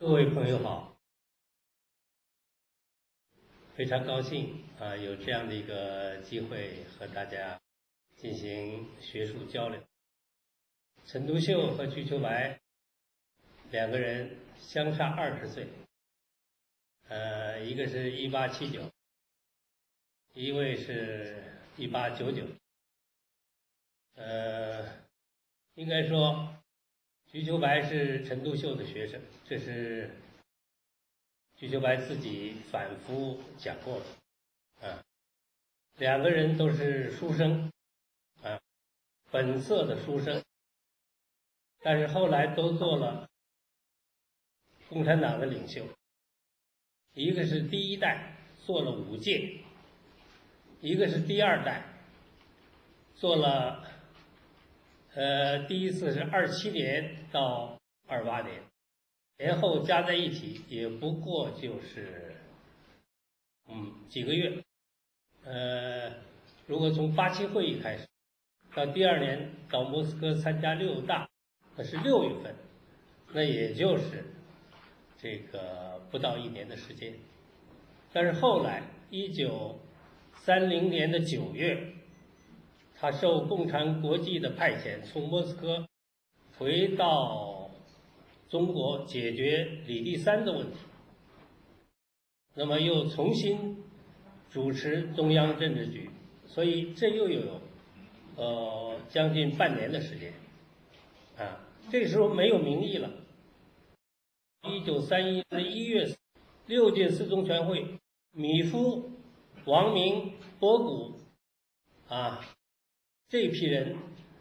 各位朋友好，非常高兴有这样的一个机会和大家进行学术交流。陈独秀和瞿秋白两个人相差20岁，一个是1879，一位是1899。应该说瞿秋白是陈独秀的学生，这是瞿秋白自己反复讲过的。两个人都是书生，本色的书生，但是后来都做了共产党的领袖。一个是第一代，做了5届；一个是第二代，做了第一次是27年到28年，前后加在一起也不过就是几个月。如果从87会议开始，到第2年到莫斯科参加6大，那是6月份，那也就是这个不到1年的时间。但是后来1930年的9月，他受共产国际的派遣，从莫斯科回到中国解决李第三的问题，那么又重新主持中央政治局，所以这又有将近半年的时间。这时候没有民意了。1931年1月，6届四中全会，米夫、王明、博古这批人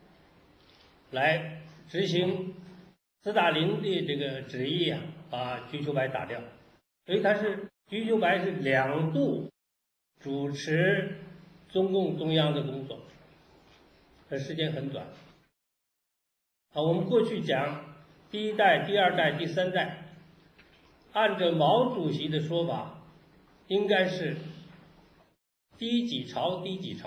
来执行斯大林的这个旨意把瞿秋白打掉。所以瞿秋白是2度主持中共中央的工作，时间很短。我们过去讲第一代、第二代、第三代，按照毛主席的说法，应该是第几朝。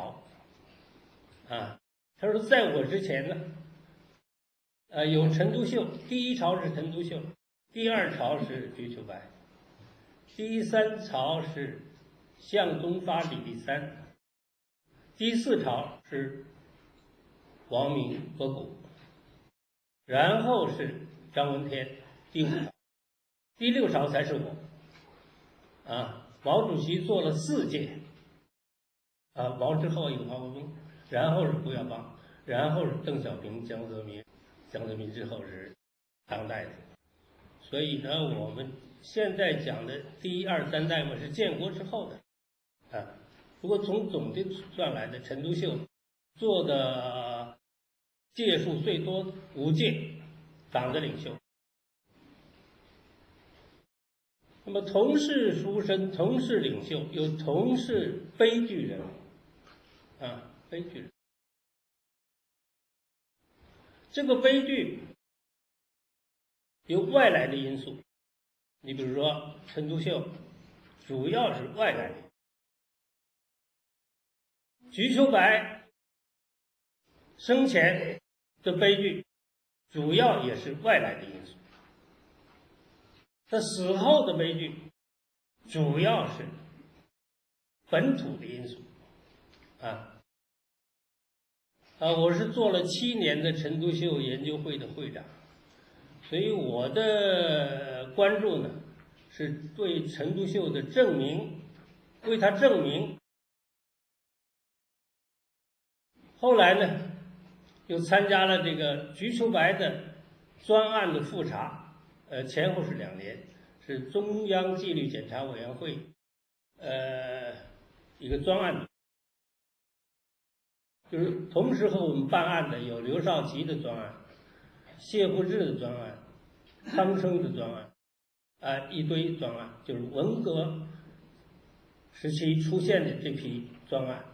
他说在我之前呢，有陈独秀，第1朝是陈独秀，第2朝是瞿秋白，第3朝是向忠发、李第三，第4朝是王明、博古，然后是张闻天，第5朝，第6朝才是我。毛主席做了4届，毛之后有黄国斌，然后是胡耀邦，然后是邓小平、江泽民之后是当代的。所以呢，我们现在讲的第1、2、3代嘛是建国之后的。如果从总的算来的，陈独秀做的届数最多5届党的领袖。那么同是书生，同是领袖，又同是悲剧人物，悲剧人物。这个悲剧有外来的因素，你比如说陈独秀主要是外来的，瞿秋白生前的悲剧主要也是外来的因素，他死后的悲剧主要是本土的因素。我是做了7年的陈独秀研究会的会长，所以我的关注呢是对陈独秀的证明，为他证明。后来呢，又参加了这个瞿秋白的专案的复查，前后是2年，是中央纪律检查委员会一个专案，就是同时和我们办案的有刘少奇的专案、谢富治的专案、汤生的专案，一堆专案，就是文革时期出现的这批专案。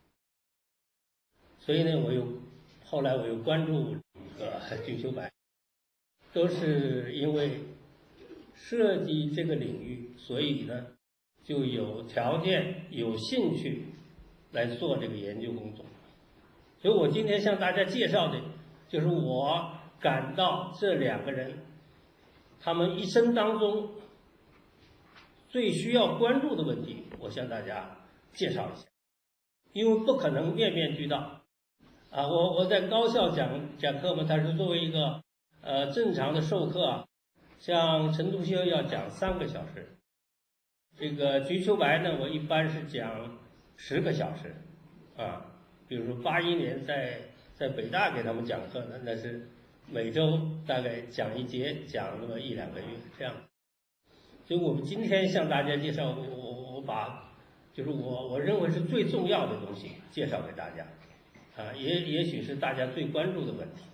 所以呢，后来我又关注瞿秋白，都是因为涉及这个领域，所以呢就有条件、有兴趣来做这个研究工作。所以我今天向大家介绍的，就是我感到这2个人他们一生当中最需要关注的问题，我向大家介绍一下，因为不可能面面俱到啊。我在高校讲课嘛，它是作为一个正常的授课啊，像陈独秀要讲3个小时，这个瞿秋白呢，我一般是讲10个小时啊。比如说81年在北大给他们讲课呢，那是每周大概讲一节，讲那么1-2个月这样。所以我们今天向大家介绍，我把就是我认为是最重要的东西介绍给大家啊，也许是大家最关注的问题。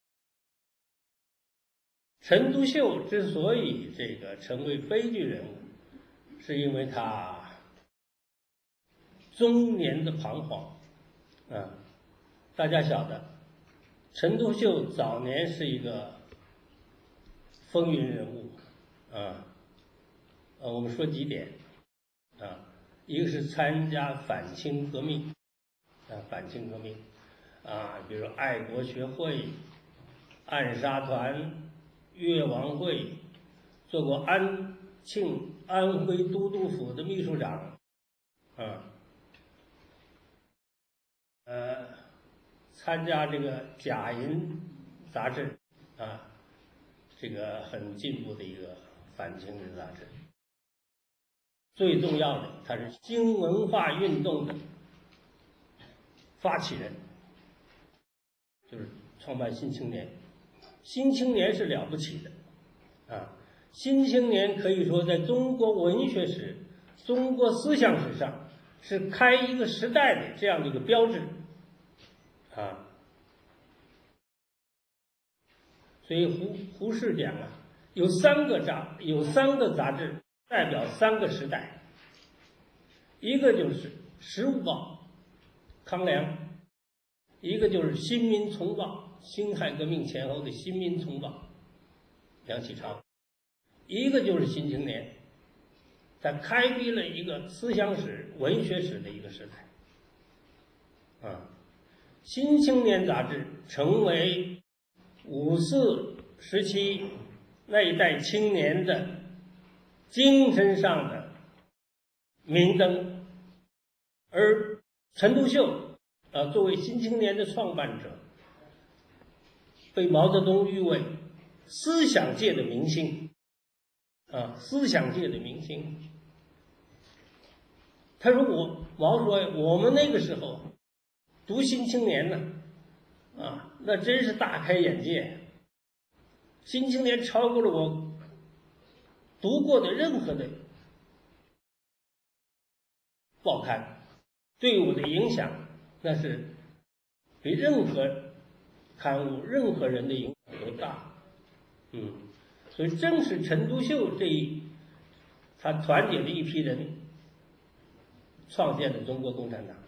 陈独秀之所以这个成为悲剧人物，是因为他中年的彷徨啊。大家晓得，陈独秀早年是一个风云人物啊。我们说几点啊，一个是参加反清革命啊，反清革命啊，比如爱国学会、暗杀团、越王会，做过安徽都督府的秘书长啊，参加这个假银杂志啊，这个很进步的一个反清的杂志。最重要的，他是新文化运动的发起人，就是创办《新青年》。《新青年》是了不起的啊，《新青年》可以说在中国文学史、中国思想史上是开一个时代的这样的一个标志啊。所以胡适讲啊，有三个杂志代表3个时代，一个就是《时务报》康梁，一个就是《新民丛报》辛亥革命前后的《新民丛报》梁启超，一个就是《新青年》，它开辟了一个思想史、文学史的一个时代啊。《新青年》杂志成为54时期那一代青年的精神上的明灯，而陈独秀作为《新青年》的创办者，被毛泽东誉为思想界的明星啊，思想界的明星。他说毛说我们那个时候读《新青年》呢啊，那真是大开眼界，《新青年》超过了我读过的任何的报刊，对我的影响那是比任何刊物、任何人的影响都大。所以正是陈独秀他团结了一批人，创建了中国共产党。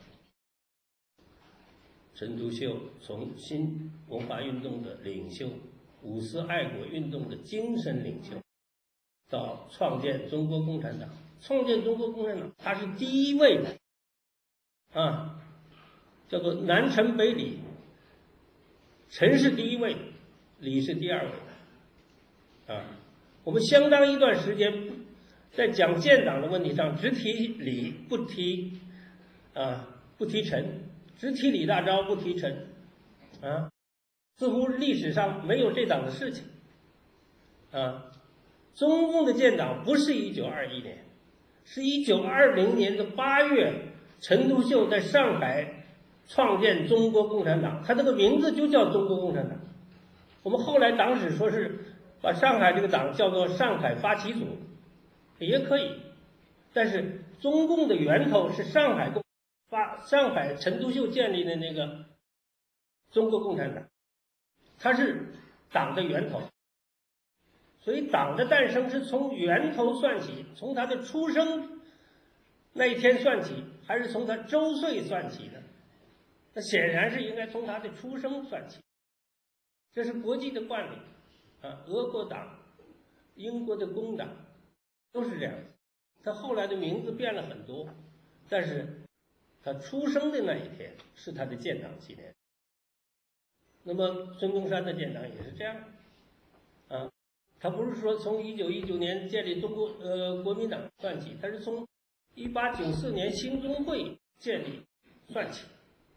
陈独秀从新文化运动的领袖、五四爱国运动的精神领袖，到创建中国共产党。创建中国共产党，他是第一位的啊，叫做南陈北李，陈是第一位，李是第2位的啊。我们相当一段时间在讲建党的问题上，只提李不提陈，只提李大钊不提陈啊，似乎历史上没有这档子事情啊。中共的建党不是1921年，是1920年的8月，陈独秀在上海创建中国共产党，他这个名字就叫中国共产党。我们后来党史说是把上海这个党叫做上海发起组，也可以，但是中共的源头是上海陈独秀建立的那个中国共产党，它是党的源头。所以党的诞生是从源头算起，从他的出生那一天算起，还是从他周岁算起的？那显然是应该从他的出生算起。这是国际的惯例啊，俄国党、英国的工党都是这样。他后来的名字变了很多，但是他出生的那一天是他的建党纪念。那么孙中山的建党也是这样啊。 他不是说从1919年建立中国国民党算起，他是从1894年兴中会建立算起。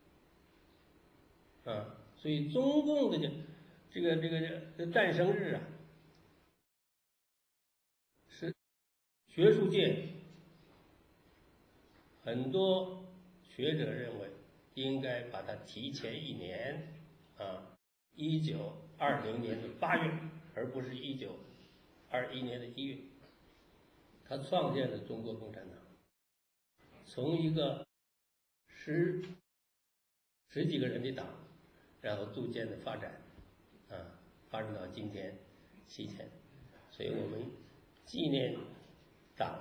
所以中共的这个诞生日啊，是学术界很多学者认为应该把它提前1年1920年的8月，而不是1921年的1月。他创建了中国共产党，从一个十几个人的党，然后逐渐的发展，发展到今天7000。所以我们纪念党，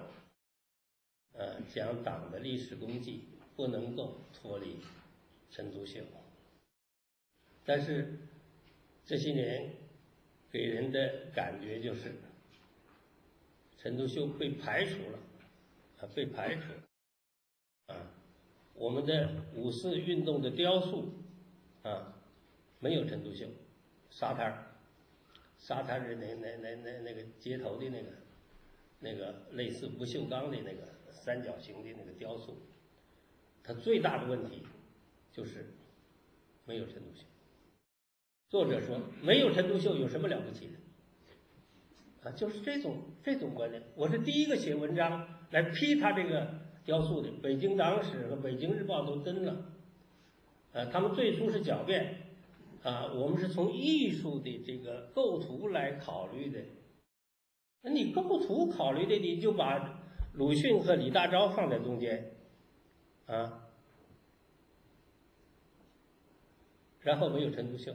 讲党的历史功绩，不能够脱离陈独秀。但是这些年给人的感觉就是陈独秀被排除了，被排除了，我们的5四运动的雕塑没有陈独秀，沙滩的那个街头的那个类似不锈钢的那个3角形的那个雕塑，它最大的问题就是没有陈独秀。作者说没有陈独秀有什么了不起的？就是这种观点。我是第一个写文章来批他这个雕塑的，《北京党史》和《北京日报》都登了。他们最初是狡辩，我们是从艺术的这个构图来考虑的。那你构图考虑的，你就把鲁迅和李大钊放在中间，然后没有陈独秀，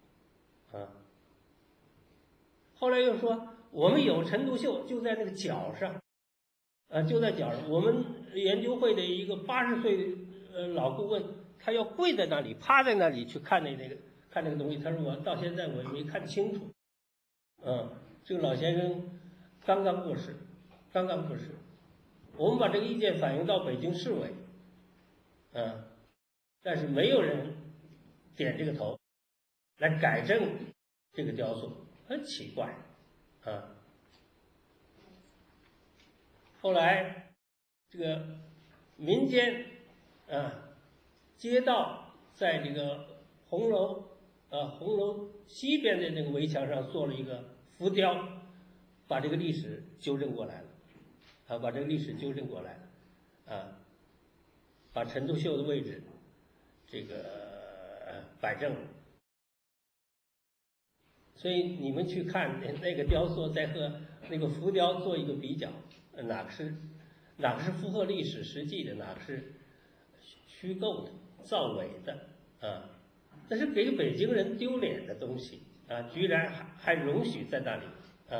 后来又说我们有陈独秀就在那个脚上，就在脚上。我们研究会的一个80岁老顾问，他要跪在那里趴在那里去看那个东西，他说我到现在我也没看清楚。这个老先生刚刚过世。我们把这个意见反映到北京市委，但是没有人点这个头来改正这个雕塑，很奇怪。后来这个民间街道在这个红楼西边的那个围墙上做了一个浮雕，把这个历史纠正过来了，把陈独秀的位置这个摆正了。所以你们去看那个雕塑，再和那个浮雕做一个比较，哪个是符合历史实际的，哪个是虚构的、造伪的那是给北京人丢脸的东西居然还容许在那里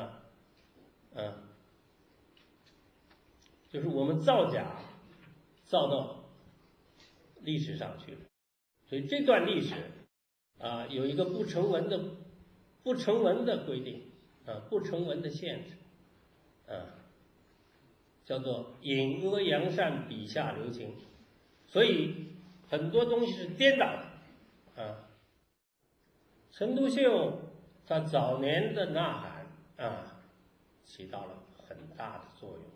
就是我们造假造到历史上去了。所以这段历史有一个不成文的规定不成文的限制叫做隐恶扬善，笔下留情。所以很多东西是颠倒的陈独秀他早年的呐喊起到了很大的作用，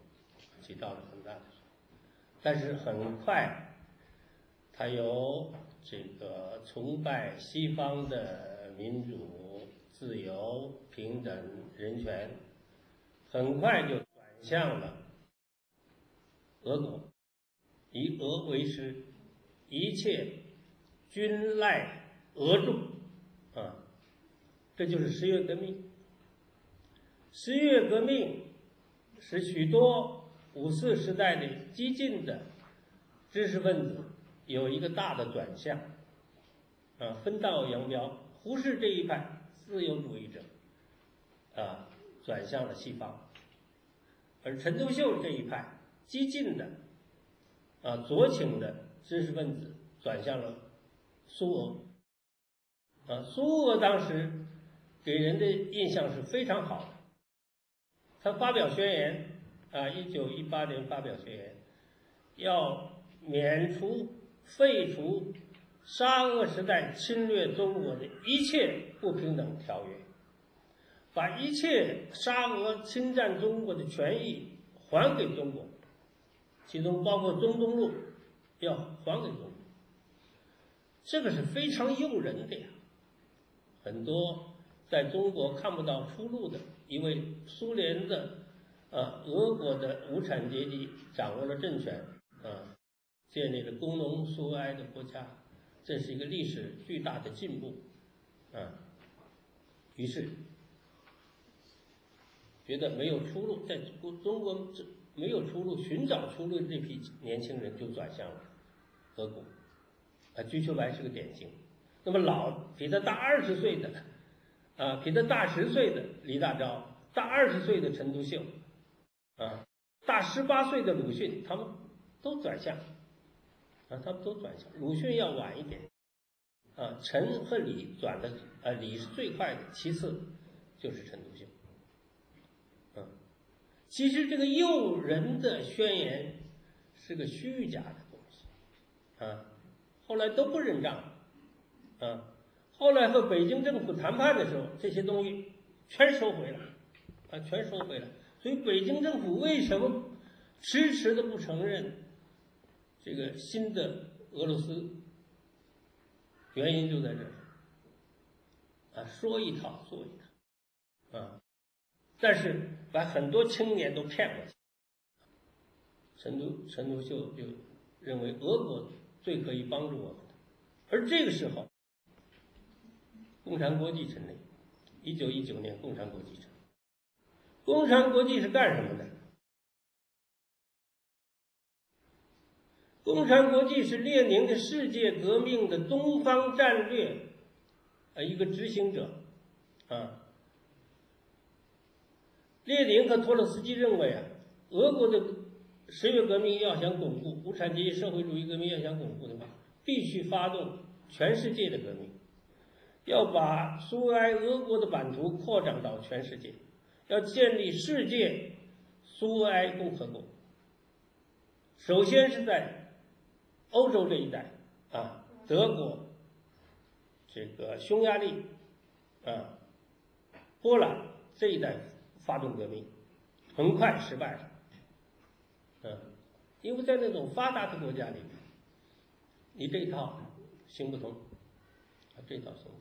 但是很快他由这个崇拜西方的民主、自由、平等、人权，很快就转向了俄国，以俄为师，一切均赖俄助这就是10月革命。10月革命使许多5四时代的激进的知识分子有一个大的转向分道扬镳，忽视这一派自由主义者转向了西方。而陈独秀这一派激进的左倾的知识分子转向了苏俄苏俄当时给人的印象是非常好的。他发表宣言1918年发表宣言，要废除沙俄时代侵略中国的一切不平等条约， 把一切沙俄侵占中国的权益还给中国，其中包括中东路要还给中国，这个是非常诱人的呀。很多在中国看不到出路的，因为苏联的俄国的无产阶级掌握了政权建立了工农苏维埃的国家，这是一个历史巨大的进步于是觉得没有出路，在中国没有出路，寻找出路的这批年轻人就转向了俄国。瞿秋白是个典型。那么比他大20岁的比他大10岁的李大钊，大20岁的陈独秀大18岁的鲁迅，他们都转向鲁迅要晚一点陈和李转的李是最快的，其次就是陈独秀。其实这个诱人的宣言是个虚假的东西后来都不认账后来和北京政府谈判的时候，这些东西全收回了全收回了。所以北京政府为什么迟迟的不承认这个新的俄罗斯，原因就在这儿说一套做一套但是把很多青年都骗过去。陈独秀就认为俄国最可以帮助我们的，而这个时候共产国际成立，1919年共产国际成立。共产国际是干什么的？共产国际是列宁的世界革命的东方战略一个执行者列宁和托洛斯基认为俄国的十月革命要想巩固，无产阶级社会主义革命要想巩固的话，必须发动全世界的革命，要把苏维埃俄国的版图扩展到全世界，要建立世界苏维埃共和国。首先是在欧洲这一带德国、这个匈牙利波兰这一带发动革命，很快失败了因为在那种发达的国家里面，你这一套行不通这一套行不通。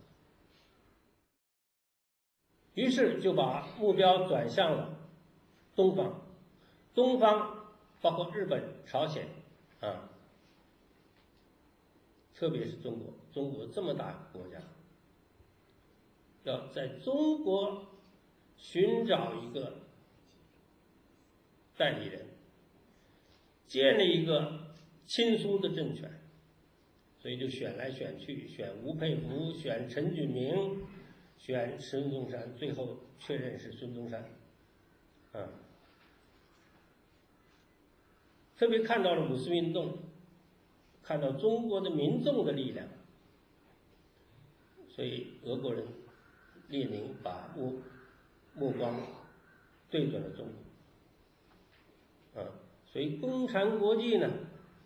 于是就把目标转向了东方，东方包括日本、朝鲜特别是中国，中国这么大国家，要在中国寻找一个代理人，建立一个亲苏的政权，所以就选来选去，选吴佩孚，选陈炯明，选孙中山，最后确认是孙中山特别看到了五四运动，看到中国的民众的力量，所以俄国人列宁把目光对准了中国所以共产国际呢，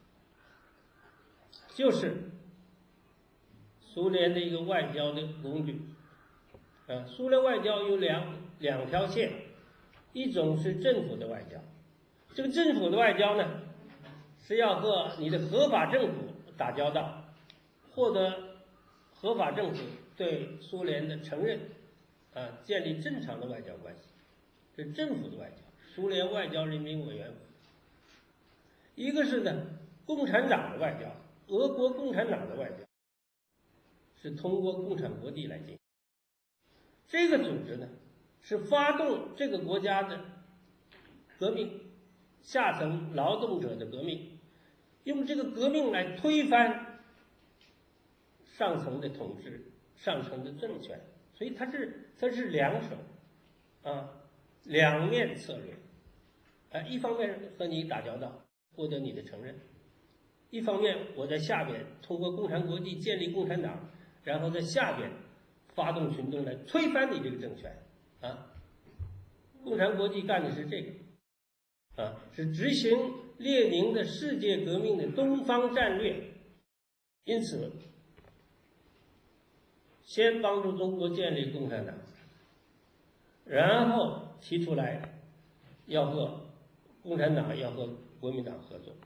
就是苏联的一个外交的工具苏联外交有两条线，一种是政府的外交，这个政府的外交呢，是要和你的合法政府打交道，获得合法政府对苏联的承认建立正常的外交关系，这是政府的外交，苏联外交人民委员会。一个是呢共产党的外交，俄国共产党的外交是通过共产国际来进行。这个组织呢是发动这个国家的革命，下层劳动者的革命，用这个革命来推翻上层的统治，上层的政权。所以它是两手两面策略一方面和你打交道，获得你的承认，一方面我在下边通过共产国际建立共产党，然后在下边发动群众来推翻你这个政权共产国际干的是这个是执行列宁的世界革命的东方战略。因此先帮助中国建立共产党， 然后提出来要和共产党要和国民党合作，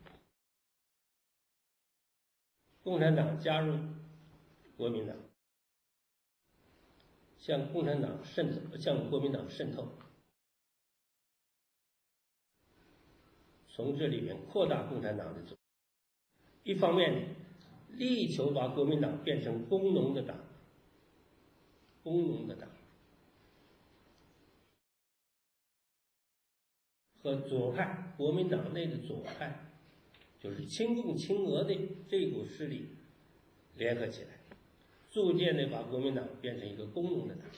共产党加入国民党，向共产党渗透，向国民党渗透，从这里面扩大共产党的组织。一方面力求把国民党变成工农的党，工农的党，和左派国民党内的左派，就是亲共亲俄的这股势力联合起来，逐渐的把国民党变成一个工农的党。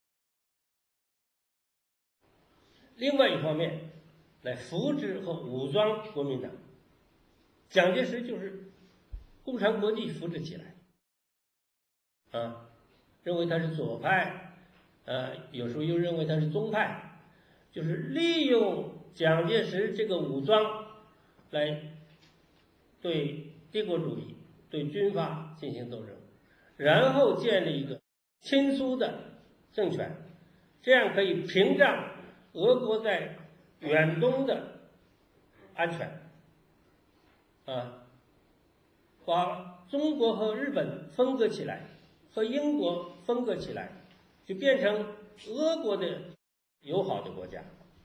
另外一方面，来扶植和武装国民党。蒋介石就是共产国际扶植起来，认为他是左派，有时候又认为他是宗派，就是利用蒋介石这个武装来对帝国主义、对军阀进行斗争，然后建立一个亲苏的政权，这样可以屏障俄国在远东的安全。把中国和日本分割起来，和英国分割起来，就变成俄国的友好的国家，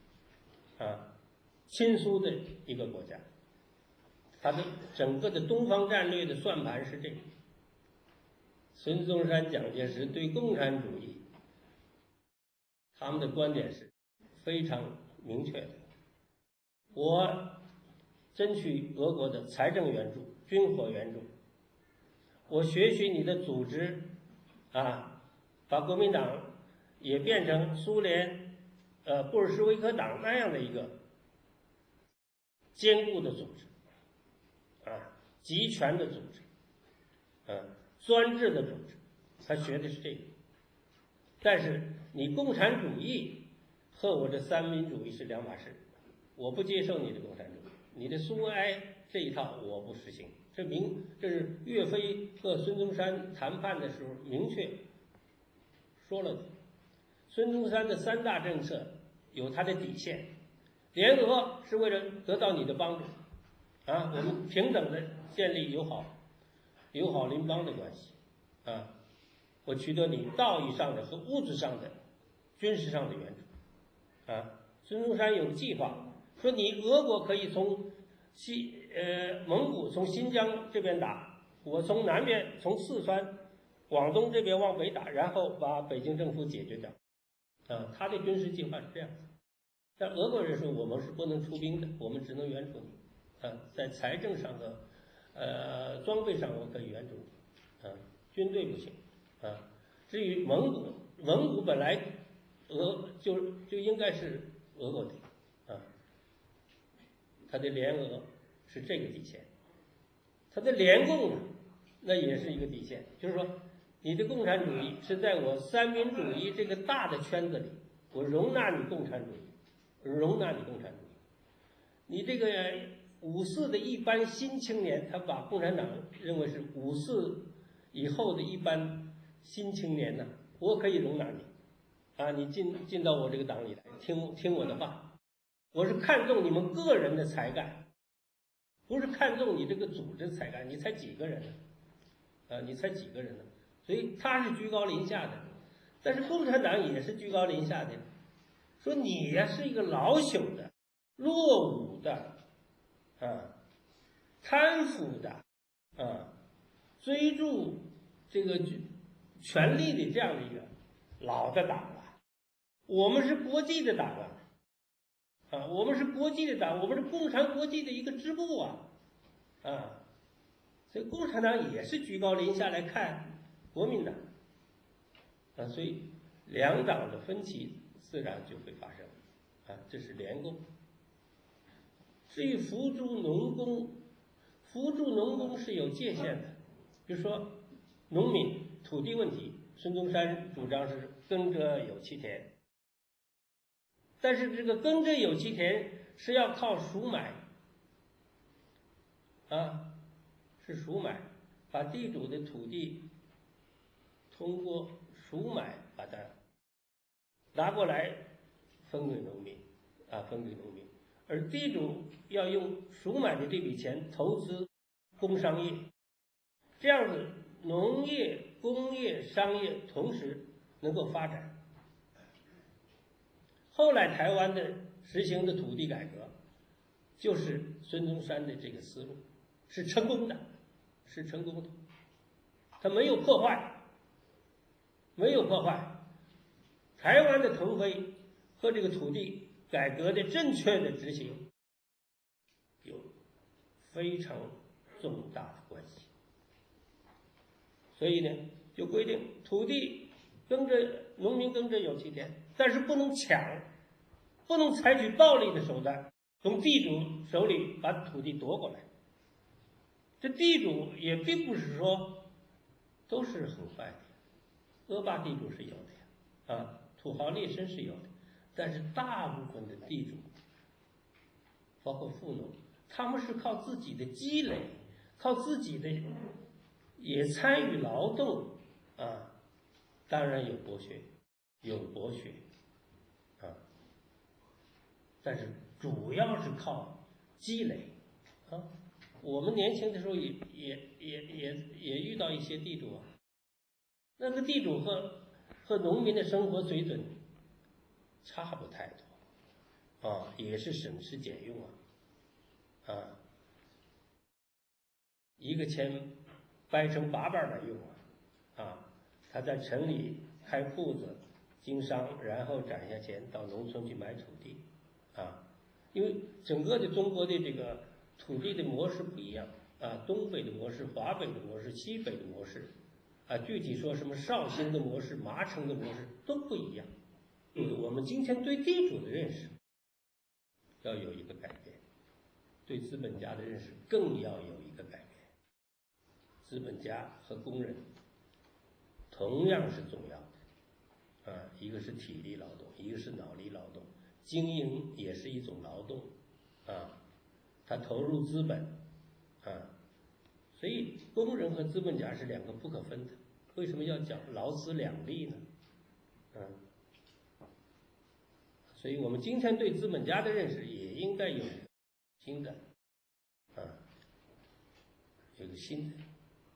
亲苏的一个国家。他的整个的东方战略的算盘是这个。孙中山、蒋介石对共产主义，他们的观点是非常明确的。我争取俄国的财政援助、军火援助，我学习你的组织，把国民党也变成苏联布尔什维克党那样的一个坚固的组织，集权的组织，专制的组织，他学的是这个。但是你共产主义和我这三民主义是两码事，我不接受你的共产主义。你的苏维埃这一套我不实行，这是岳飞和孙中山谈判的时候明确说了的。孙中山的三大政策有他的底线，联俄是为了得到你的帮助，我们平等的建立友好邻邦的关系，我取得你道义上的和物质上的、军事上的援助，孙中山有计划。说你俄国可以从蒙古从新疆这边打，我从南边从四川、广东这边往北打，然后把北京政府解决掉。他的军事计划是这样子。但俄国人说我们是不能出兵的，我们只能援助你。在财政上和装备上我可以援助你，军队不行。至于蒙古本来就应该是俄国的。他的联俄是这个底线，他的联共呢，那也是一个底线，就是说，你的共产主义是在我三民主义这个大的圈子里，我容纳你共产主义，你这个54的一般新青年，他把共产党认为是54以后的一般新青年呢，我可以容纳你，你进到我这个党里来，听我的话。我是看重你们个人的才干，不是看重你这个组织才干。你才几个人呢？所以他是居高临下的，但是共产党也是居高临下的，说你呀是一个老朽的、落伍的、贪腐的、追逐这个权力的这样的一个老的党了。我们是国际的党啊。我们是国际的党，我们是共产国际的一个支部所以共产党也是居高临下来看国民党，所以两党的分歧自然就会发生，这是联共。至于扶助农工是有界限的，比如说农民土地问题，孙中山主张是耕者有其田。但是这个耕者有其田是要靠赎买，是赎买，把地主的土地通过赎买把它拿过来分给农民，分给农民，而地主要用赎买的这笔钱投资工商业，这样子农业、工业、商业同时能够发展。后来台湾的实行的土地改革，就是孙中山的这个思路，是成功的，是成功的。他没有破坏，没有破坏。台湾的腾飞和这个土地改革的正确的执行有非常重大的关系。所以呢，就规定土地农民耕着有其田，但是不能抢，不能采取暴力的手段从地主手里把土地夺过来。这地主也并不是说都是很坏的，恶霸地主是有的呀，土豪劣绅是有的，但是大部分的地主，包括富农，他们是靠自己的积累，靠自己的也参与劳动当然有剥削，但是主要是靠积累我们年轻的时候也遇到一些地主那个地主和农民的生活水准差不太多也是省吃俭用一个钱掰成8瓣来用他在城里开铺子经商，然后攒下钱到农村去买土地因为整个的中国的这个土地的模式不一样东北的模式、华北的模式、西北的模式具体说什么绍兴的模式、麻城的模式都不一样。我们今天对地主的认识要有一个改变，对资本家的认识更要有一个改变。资本家和工人同样是重要的一个是体力劳动，一个是脑力劳动，经营也是一种劳动他投入资本所以工人和资本家是2个不可分的。为什么要讲劳资两利呢所以我们今天对资本家的认识也应该有新的有个新的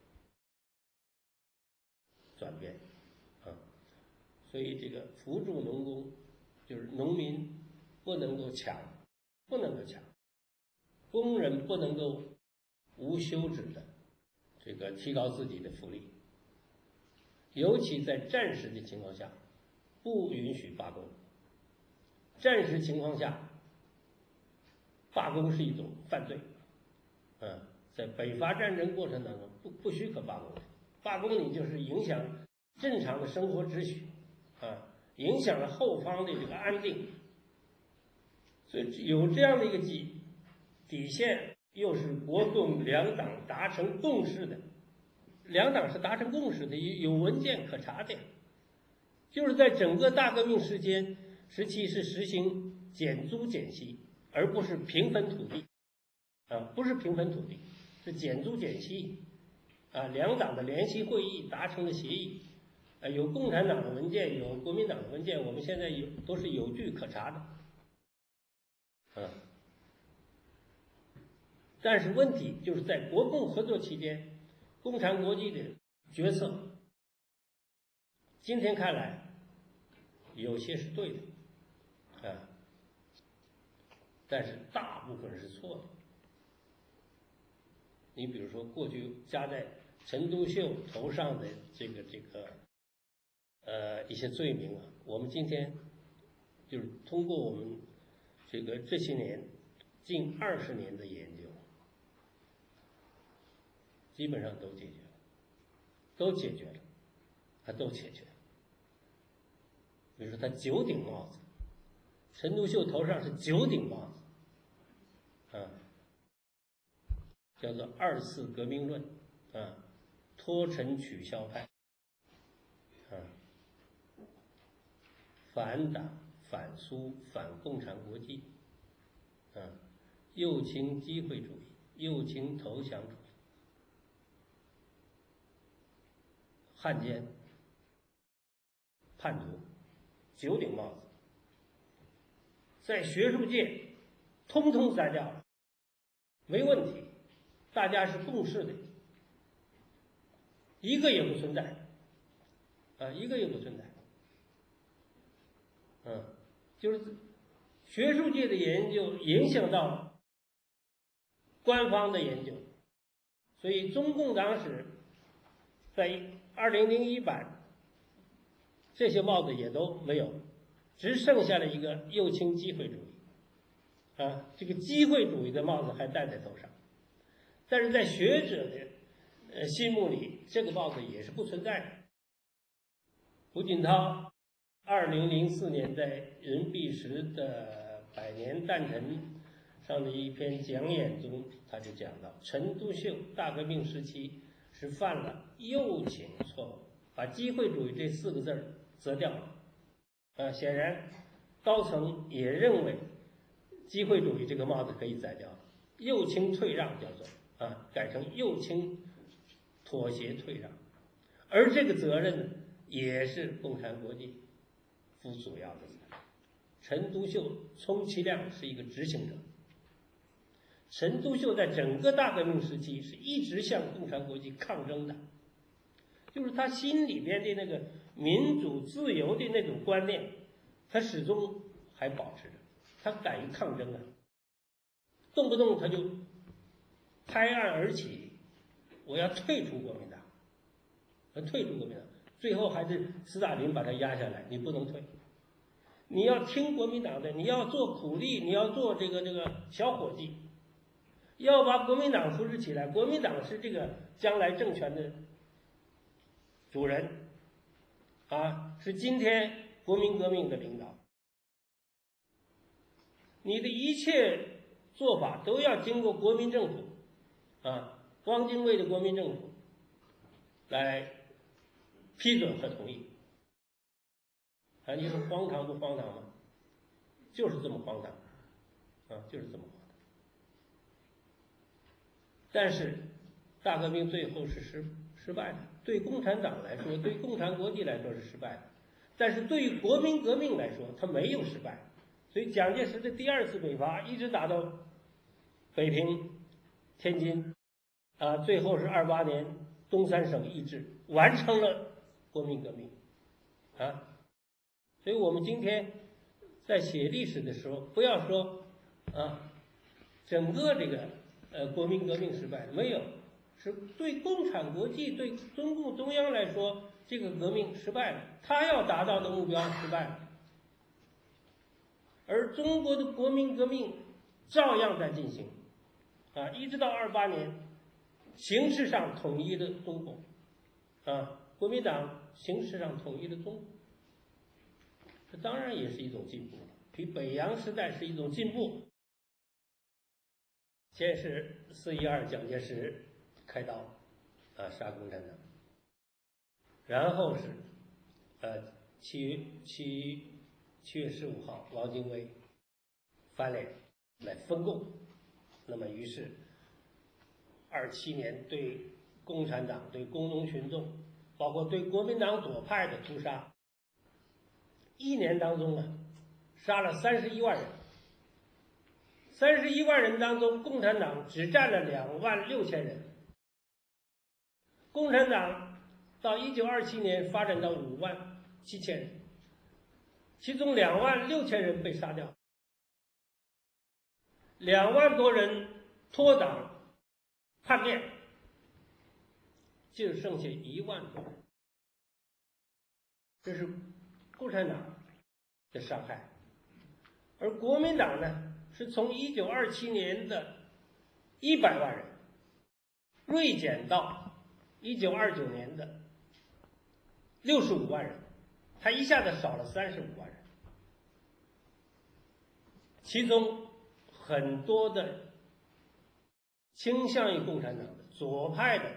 转变所以这个扶助农工就是农民不能够抢，工人不能够无休止的这个提高自己的福利，尤其在战时的情况下不允许罢工。战时情况下罢工是一种犯罪在北伐战争过程当中不许可罢工，罢工你就是影响正常的生活秩序影响了后方的这个安定。所以有这样的一个底线，又是国共两党达成共识的，两党是达成共识的，有文件可查的，就是在整个大革命时期是实行减租减息，而不是平分土地不是平分土地，是减租减息两党的联席会议达成了协议有共产党的文件，有国民党的文件，我们现在都是有据可查的但是问题就是在国共合作期间，共产国际的决策今天看来有些是对的但是大部分是错的。你比如说过去加在陈独秀头上的这个一些罪名我们今天就是通过我们这些年近20年的研究，基本上都解决了。比如说他9顶帽子，陈独秀头上是9顶帽子叫做2次革命论脱陈取消派反党反苏反共产国际右倾机会主义，右倾投降主义，汉奸叛徒，9顶帽子在学术界通通摘掉了，没问题，大家是共识的，一个也不存在，一个也不存在。就是学术界的研究影响到官方的研究，所以中共党史在2001版这些帽子也都没有，只剩下了一个右倾机会主义，这个机会主义的帽子还戴在头上，但是在学者的心目里，这个帽子也是不存在的。胡锦涛2004年在任弼时的百年诞辰上的一篇讲演中，他就讲到，陈独秀大革命时期是犯了右倾错误，把机会主义这4个字择掉了。显然高层也认为机会主义这个帽子可以摘掉了，右倾退让叫做改成右倾妥协退让，而这个责任也是共产国际负主要的责任。陈独秀充其量是一个执行者，陈独秀在整个大革命时期是一直向共产国际抗争的，就是他心里边的那个民主自由的那种观念，他始终还保持着，他敢于抗争动不动他就拍案而起，我要退出国民党，最后还是斯大林把他压下来，你不能退，你要听国民党的，你要做苦力，你要做这个小伙计，要把国民党扶持起来，国民党是这个将来政权的主人是今天国民革命的领导，你的一切做法都要经过国民政府汪精卫的国民政府来批准和同意。你说荒唐不荒唐吗？就是这么荒唐就是这么荒唐。但是大革命最后是失败的，对共产党来说，对共产国际来说是失败的，但是对于国民革命来说，它没有失败。所以蒋介石的第2次北伐一直打到北平、天津最后是28年东三省易帜，完成了国民革命所以我们今天在写历史的时候，不要说整个这个国民革命失败，没有，是对共产国际、对中共中央来说，这个革命失败了，他要达到的目标失败了，而中国的国民革命照样在进行一直到28年，形式上统一了中国国民党形式上统一了中国，这当然也是一种进步了，比北洋时代是一种进步。先是4·12蒋介石开刀杀共产党，然后是7月15号汪精卫翻脸来分共，那么于是27年对共产党、对工农群众，包括对国民党左派的屠杀，1年当中杀了31万人，31万人当中，共产党只占了26000人。共产党到1927年发展到57000人，其中26000人被杀掉，2万多人脱党叛变，就剩下1万多人。这是共产党的伤害，而国民党呢，是从1927年的100万人锐减到1929年的65万人，他一下子少了35万人，其中很多的倾向于共产党的左派的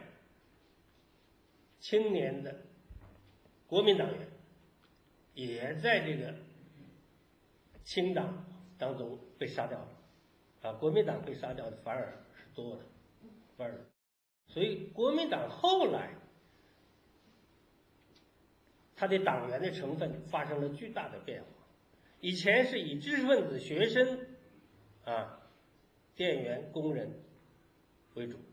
青年的国民党员也在这个清党当中被杀掉了国民党被杀掉的反而是多的，所以国民党后来他的党员的成分发生了巨大的变化， 以前是以知识分子、学生店员、工人为主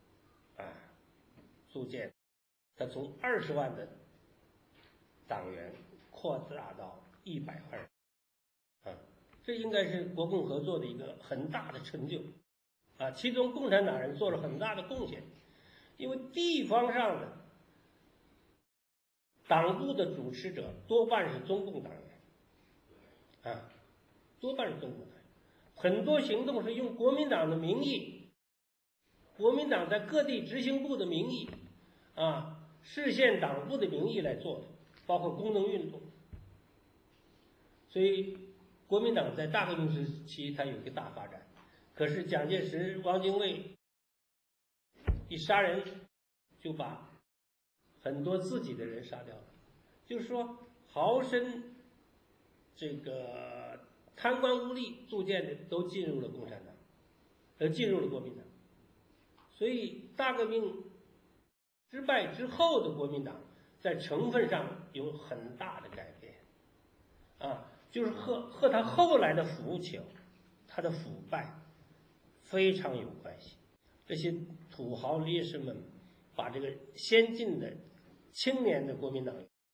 组建，他从20万的党员扩大到100万人这应该是国共合作的一个很大的成就其中共产党人做了很大的贡献，因为地方上的党部的主持者多半是中共党员多半是中共党员，很多行动是用国民党的名义，国民党在各地执行部的名义市县党部的名义来做的，包括工农运动。所以国民党在大革命时期它有一个大发展，可是蒋介石、汪精卫一杀人就把很多自己的人杀掉了，就是说豪绅这个贪官污吏组建的都进入了共产党，进入了国民党。所以大革命失败之后的国民党在成分上有很大的改变就是和他后来的腐朽，他的腐败非常有关系。这些土豪烈士们把这个先进的青年的国民党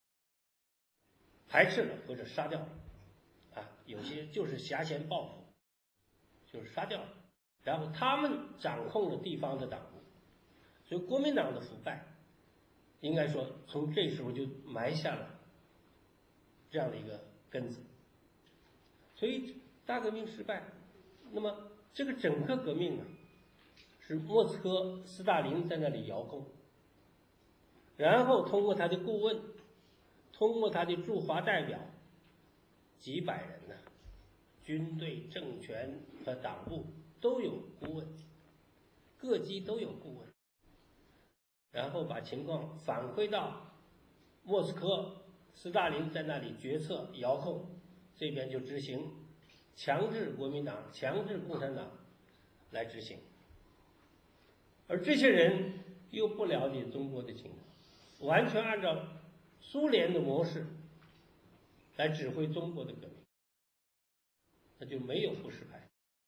排斥了或者杀掉了有些就是挟嫌报复，就是杀掉了，然后他们掌控了地方的党部，所以国民党的腐败应该说从这时候就埋下了这样的一个根子。所以大革命失败，那么这个整个革命是莫斯科斯大林在那里遥控，然后通过他的顾问，通过他的驻华代表几百人军队、政权和党部都有顾问，各级都有顾问，然后把情况反馈到莫斯科，斯大林在那里决策遥控，这边就执行，强制国民党、强制共产党来执行。而这些人又不了解中国的情况，完全按照苏联的模式来指挥中国的革命，那就没有不失败。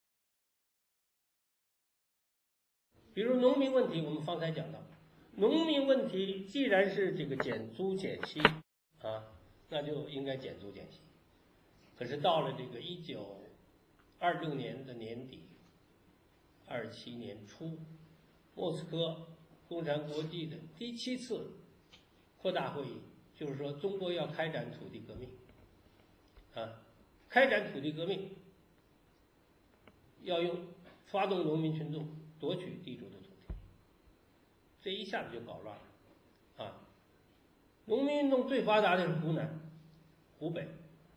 比如农民问题，我们方才讲到，农民问题既然是这个减租减息那就应该减租减息。可是到了这个1926年的年底，27年初，莫斯科共产国际的第7次扩大会议，就是说中国要开展土地革命开展土地革命要发动农民群众夺取地主的土地，这一下子就搞乱了农民运动最发达的是湖南、湖北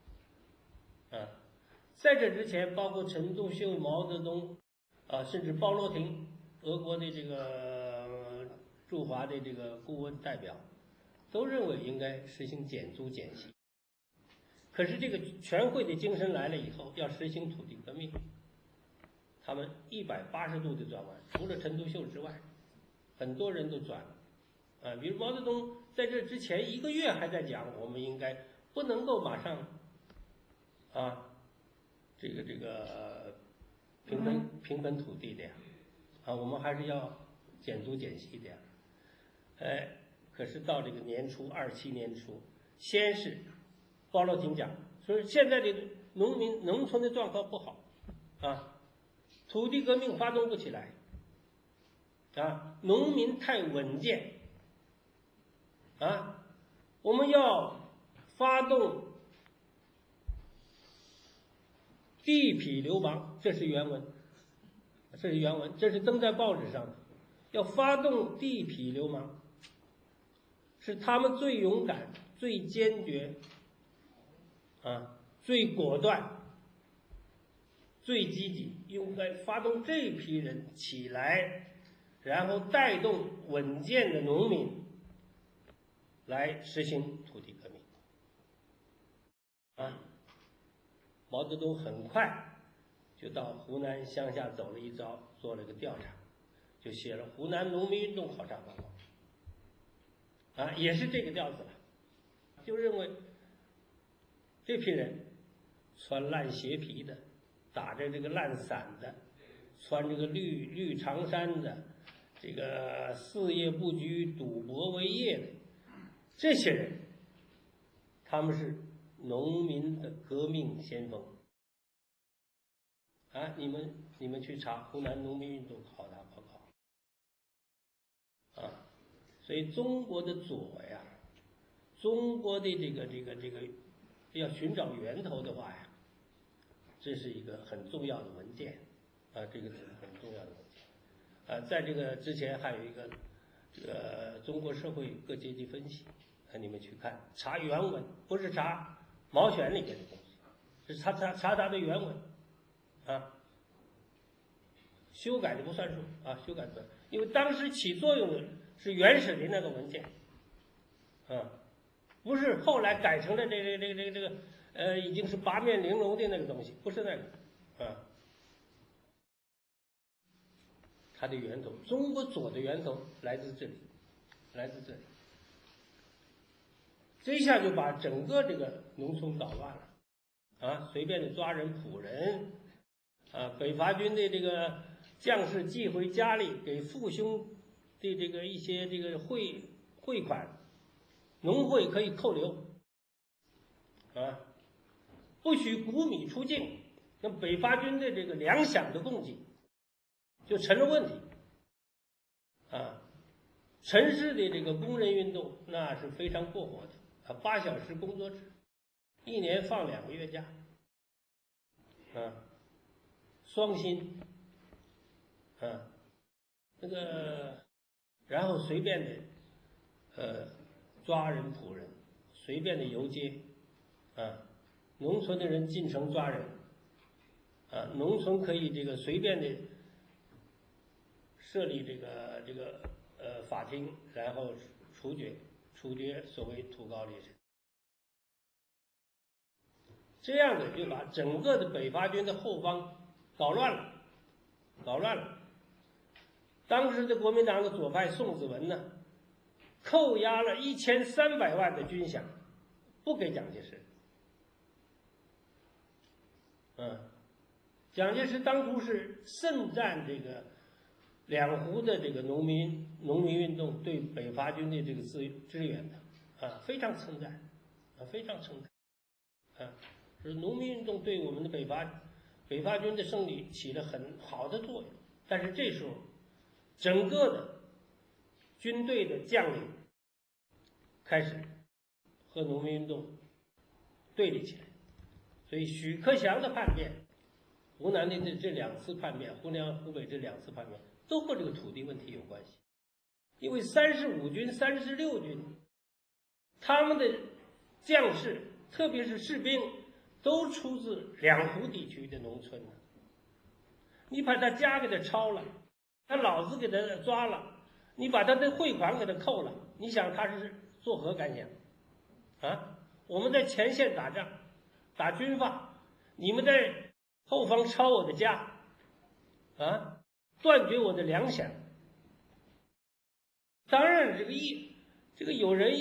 在这之前，包括陈独秀、毛泽东甚至鲍罗廷，俄国的这个驻华的这个顾问代表，都认为应该实行减租减息。可是这个全会的精神来了以后，要实行土地革命，他们180度的转弯，除了陈独秀之外，很多人都转了比如毛泽东在这之前1个月还在讲，我们应该不能够马上这个平分土地的我们还是要减租减息的可是到这个年初27年初，先是鲍罗廷讲，说现在的农村的状况不好土地革命发动不起来农民太稳健我们要发动地痞流氓，这是原文，这是登在报纸上的，要发动地痞流氓，是他们最勇敢、最坚决最果断、最积极，应该发动这批人起来，然后带动稳健的农民来实行土地革命毛泽东很快就到湖南乡下走了一遭，做了个调查，就写了《湖南农民运动考察报告》也是这个调子了，就认为这批人穿烂鞋皮的，打着这个烂伞的，穿这个绿长衫的，这个事业不居、赌博为业的，这些人，他们是农民的革命先锋。啊，你们去查湖南农民运动考察报告，啊，所以中国的左呀，中国的这个要寻找源头的话呀，这是一个很重要的文件，啊，这个是很重要的文件，啊，在这个之前还有一个这个中国社会各阶级分析，啊，你们去看查原文，不是查毛选里面的东西，是查它的原文。啊，修改的不算数啊，修改不算，因为当时起作用的是原始的那个文件，啊，不是后来改成了这个已经是八面玲珑的那个东西，不是那个，啊，它的源头，中国左的源头来自这里，来自这里，这一下就把整个这个农村搞乱了，啊，随便的抓人捕人。啊，北伐军的这个将士寄回家里，给父兄的这个一些这个汇款，农会可以扣留，啊，不许谷米出境，那北伐军的这个粮饷的供给就成了问题，啊，城市的这个工人运动那是非常过火的，啊，8小时工作制，1年放2个月假，啊。双薪，啊，那个，然后随便的，抓人捕人，随便的游街，啊，农村的人进城抓人，啊，农村可以这个随便的设立这个法庭，然后处决所谓土高劣绅，这样的就把整个的北伐军的后方。搞乱了。当时的国民党的左派宋子文呢，扣押了1300万的军饷，不给蒋介石。蒋介石当初是盛赞这个两湖的这个农民运动对北伐军的这个支援的，啊，非常称赞，啊，非常称赞，啊，是农民运动对我们的北伐军的胜利起了很好的作用，但是这时候，整个的军队的将领开始和农民运动对立起来，所以许克祥的叛变，湖南的这2次叛变，湖南、湖北这2次叛变都和这个土地问题有关系，因为35军、36军，他们的将士，特别是士兵。都出自两湖地区的农村，你把他家给他抄了，他老子给他抓了，你把他的汇款给他扣了，你想他是作何感想？啊，我们在前线打仗，打军阀，你们在后方抄我的家，啊，断绝我的粮饷。当然，这个有人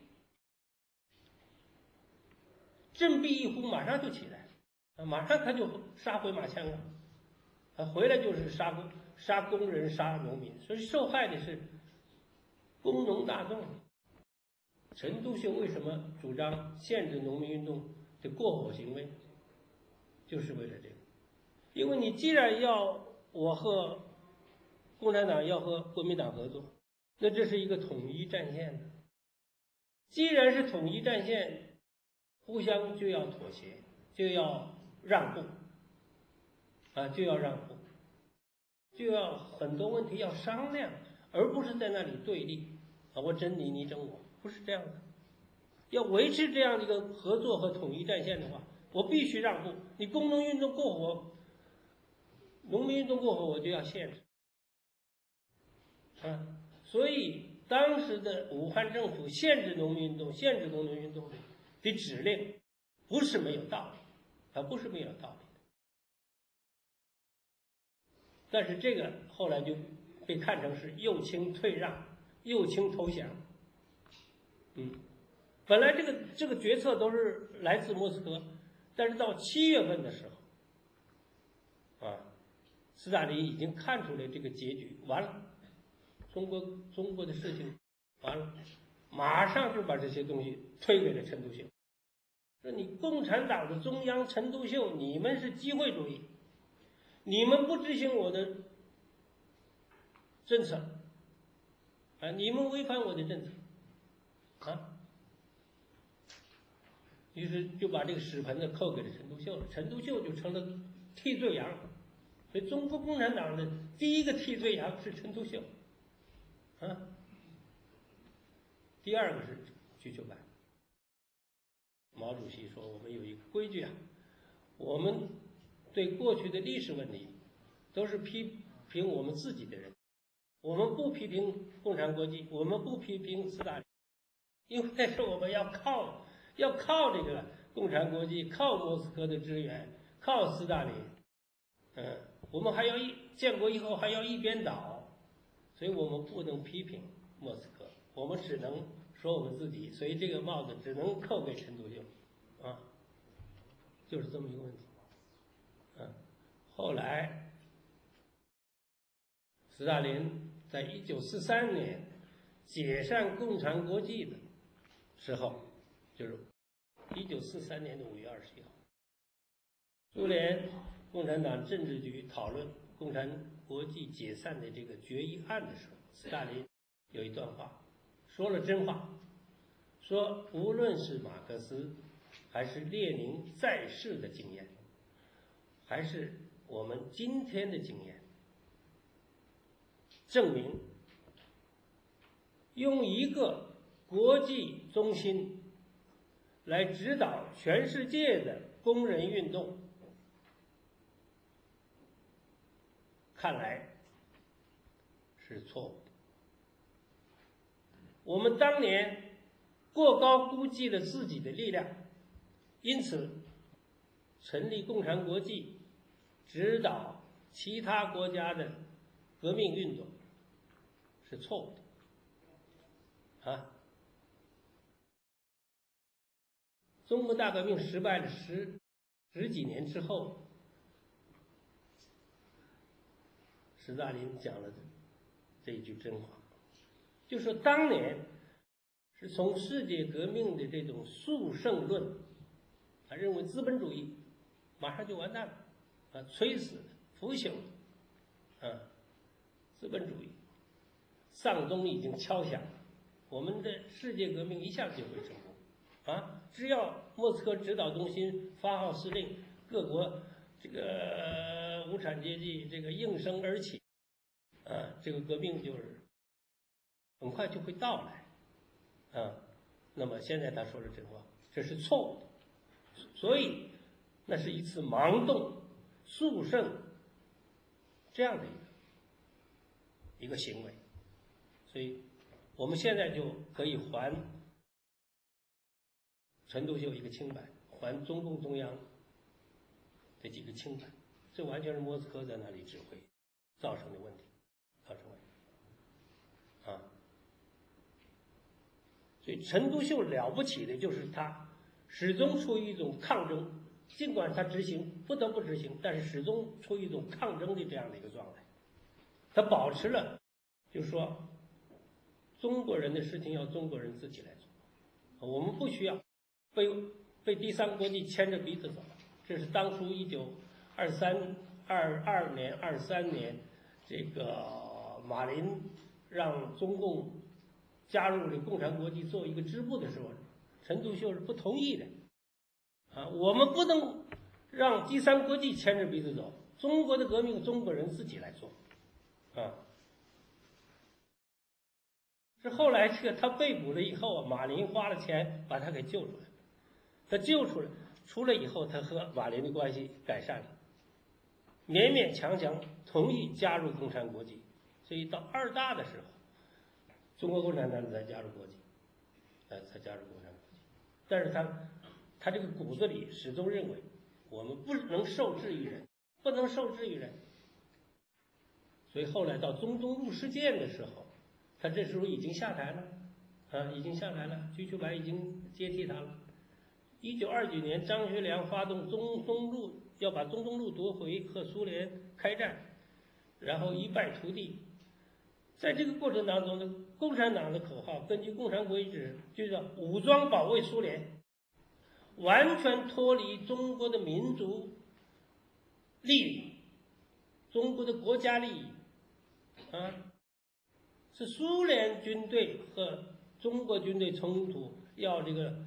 振臂一呼，马上就起来，马上他就杀回马枪了，回来就是杀工人、杀农民，所以受害的是工农大众。陈独秀为什么主张限制农民运动的过火行为，就是为了这个。因为你既然要我和共产党要和国民党合作，那这是一个统一战线的。既然是统一战线，互相就要妥协，就要让步，啊，就要让步，就要很多问题要商量，而不是在那里对立，啊，我整你，你整我，不是这样的。要维持这样的一个合作和统一战线的话，我必须让步。你工农运动过火，农民运动过火，我就要限制，啊，所以当时的武汉政府限制农民运动、限制工农运动的指令不是没有道理，不是没有道理的。但是这个后来就被看成是右倾退让、右倾投降。本来这个决策都是来自莫斯科， 但是到7月份的时候，斯大林已经看出来这个结局，完了，中国的事情完了，马上就把这些东西推给了陈独秀，说你共产党的中央陈独秀，你们是机会主义，你们不执行我的政策，你们违反我的政策，于是就把这个屎盆子扣给了陈独秀了，陈独秀就成了替罪羊。所以中国共产党的第一个替罪羊是陈独秀，第二个是瞿秋白。毛主席说我们有一个规矩我们对过去的历史问题都是批评我们自己的人，我们不批评共产国际，我们不批评斯大林，因为是我们要靠这个共产国际，靠莫斯科的支援，靠斯大林，我们还要建国以后还要一边倒，所以我们不能批评莫斯科，我们只能说我们自己，所以这个帽子只能扣给陈独秀，就是这么一个问题。后来斯大林在1943年解散共产国际的时候，就是1943年的5月21号，苏联共产党政治局讨论共产国际解散的这个决议案的时候，斯大林有一段话，说了真话，说无论是马克思还是列宁在世的经验，还是我们今天的经验，证明用一个国际中心来指导全世界的工人运动，看来是错误的。我们当年过高估计了自己的力量，因此成立共产国际，指导其他国家的革命运动是错误的。中国大革命失败了十几年之后，斯大林讲了这一句真话，就说当年是从世界革命的这种速胜论，他认为资本主义马上就完蛋了，摧死腐朽了，资本主义丧钟已经敲响了，我们的世界革命一下子就会成功只要莫斯科指导中心发号施令，各国这个无产阶级这个应声而起，这个革命就是很快就会到来，那么现在他说了真话，这是错误的，所以那是一次盲动速胜这样的一个行为，所以我们现在就可以还陈独秀一个清白，还中共中央这几个清白，这完全是莫斯科在那里指挥造成的问题，所以陈独秀了不起的就是他始终处于一种抗争，尽管他不得不执行，但是始终处于一种抗争的这样的一个状态，他保持了就是说中国人的事情要中国人自己来做，我们不需要被第三国际牵着鼻子走，这是当初1922年、23年，这个马林让中共加入了共产国际做一个支部的时候，陈独秀是不同意的，我们不能让第三国际牵着鼻子走，中国的革命中国人自己来做，是后来这个他被捕了以后，马林花了钱把他给救出来，他救出来以后，他和马林的关系改善了，勉勉强强同意加入共产国际，所以到2大的时候，中国共产党才加入国际，才加入共产国际，但是他这个骨子里始终认为我们不能受制于人，不能受制于人，所以后来到中东入事件的时候，他这时候已经下台了，已经下台了，瞿秋白已经接替他了。 1929年，张学良发动中东路，要把中东路夺回，和苏联开战，然后一败涂地。在这个过程当中呢，共产党的口号根据共产国际指就叫武装保卫苏联，完全脱离中国的民族利益、中国的国家利益啊，是苏联军队和中国军队冲突，要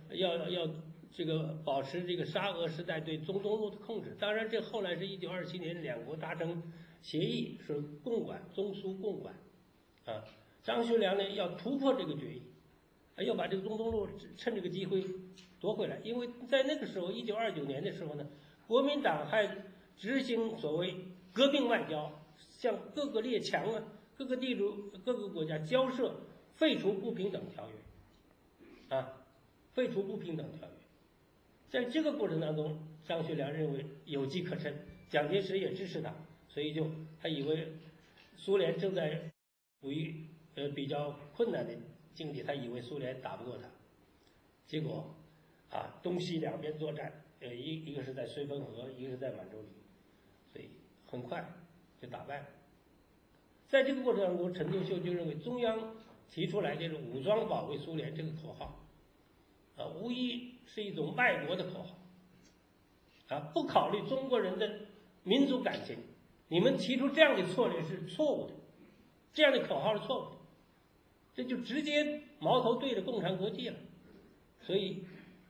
保持这个沙俄时代对中东路的控制。当然，这后来是1927年两国达成协议，是共管，中苏共管啊。张学良呢要突破这个决议，要把这个中东路趁这个机会夺回来。因为在那个时候，1929年的时候呢，国民党还执行所谓革命外交，向各个列强啊、各个地主、各个国家交涉废除不平等条约啊，废除不平等条约。在这个过程当中，张学良认为有机可乘，蒋介石也支持他，所以他以为苏联正在处于比较困难的境地，他以为苏联打不过他，结果东西两边作战，一个是在绥芬河，一个是在满洲里，所以很快就打败了。在这个过程当中，陈独秀就认为中央提出来这种武装保卫苏联这个口号无疑是一种卖国的口号不考虑中国人的民族感情。你们提出这样的策略是错误的，这样的口号是错误的，这就直接矛头对着共产国际了。所以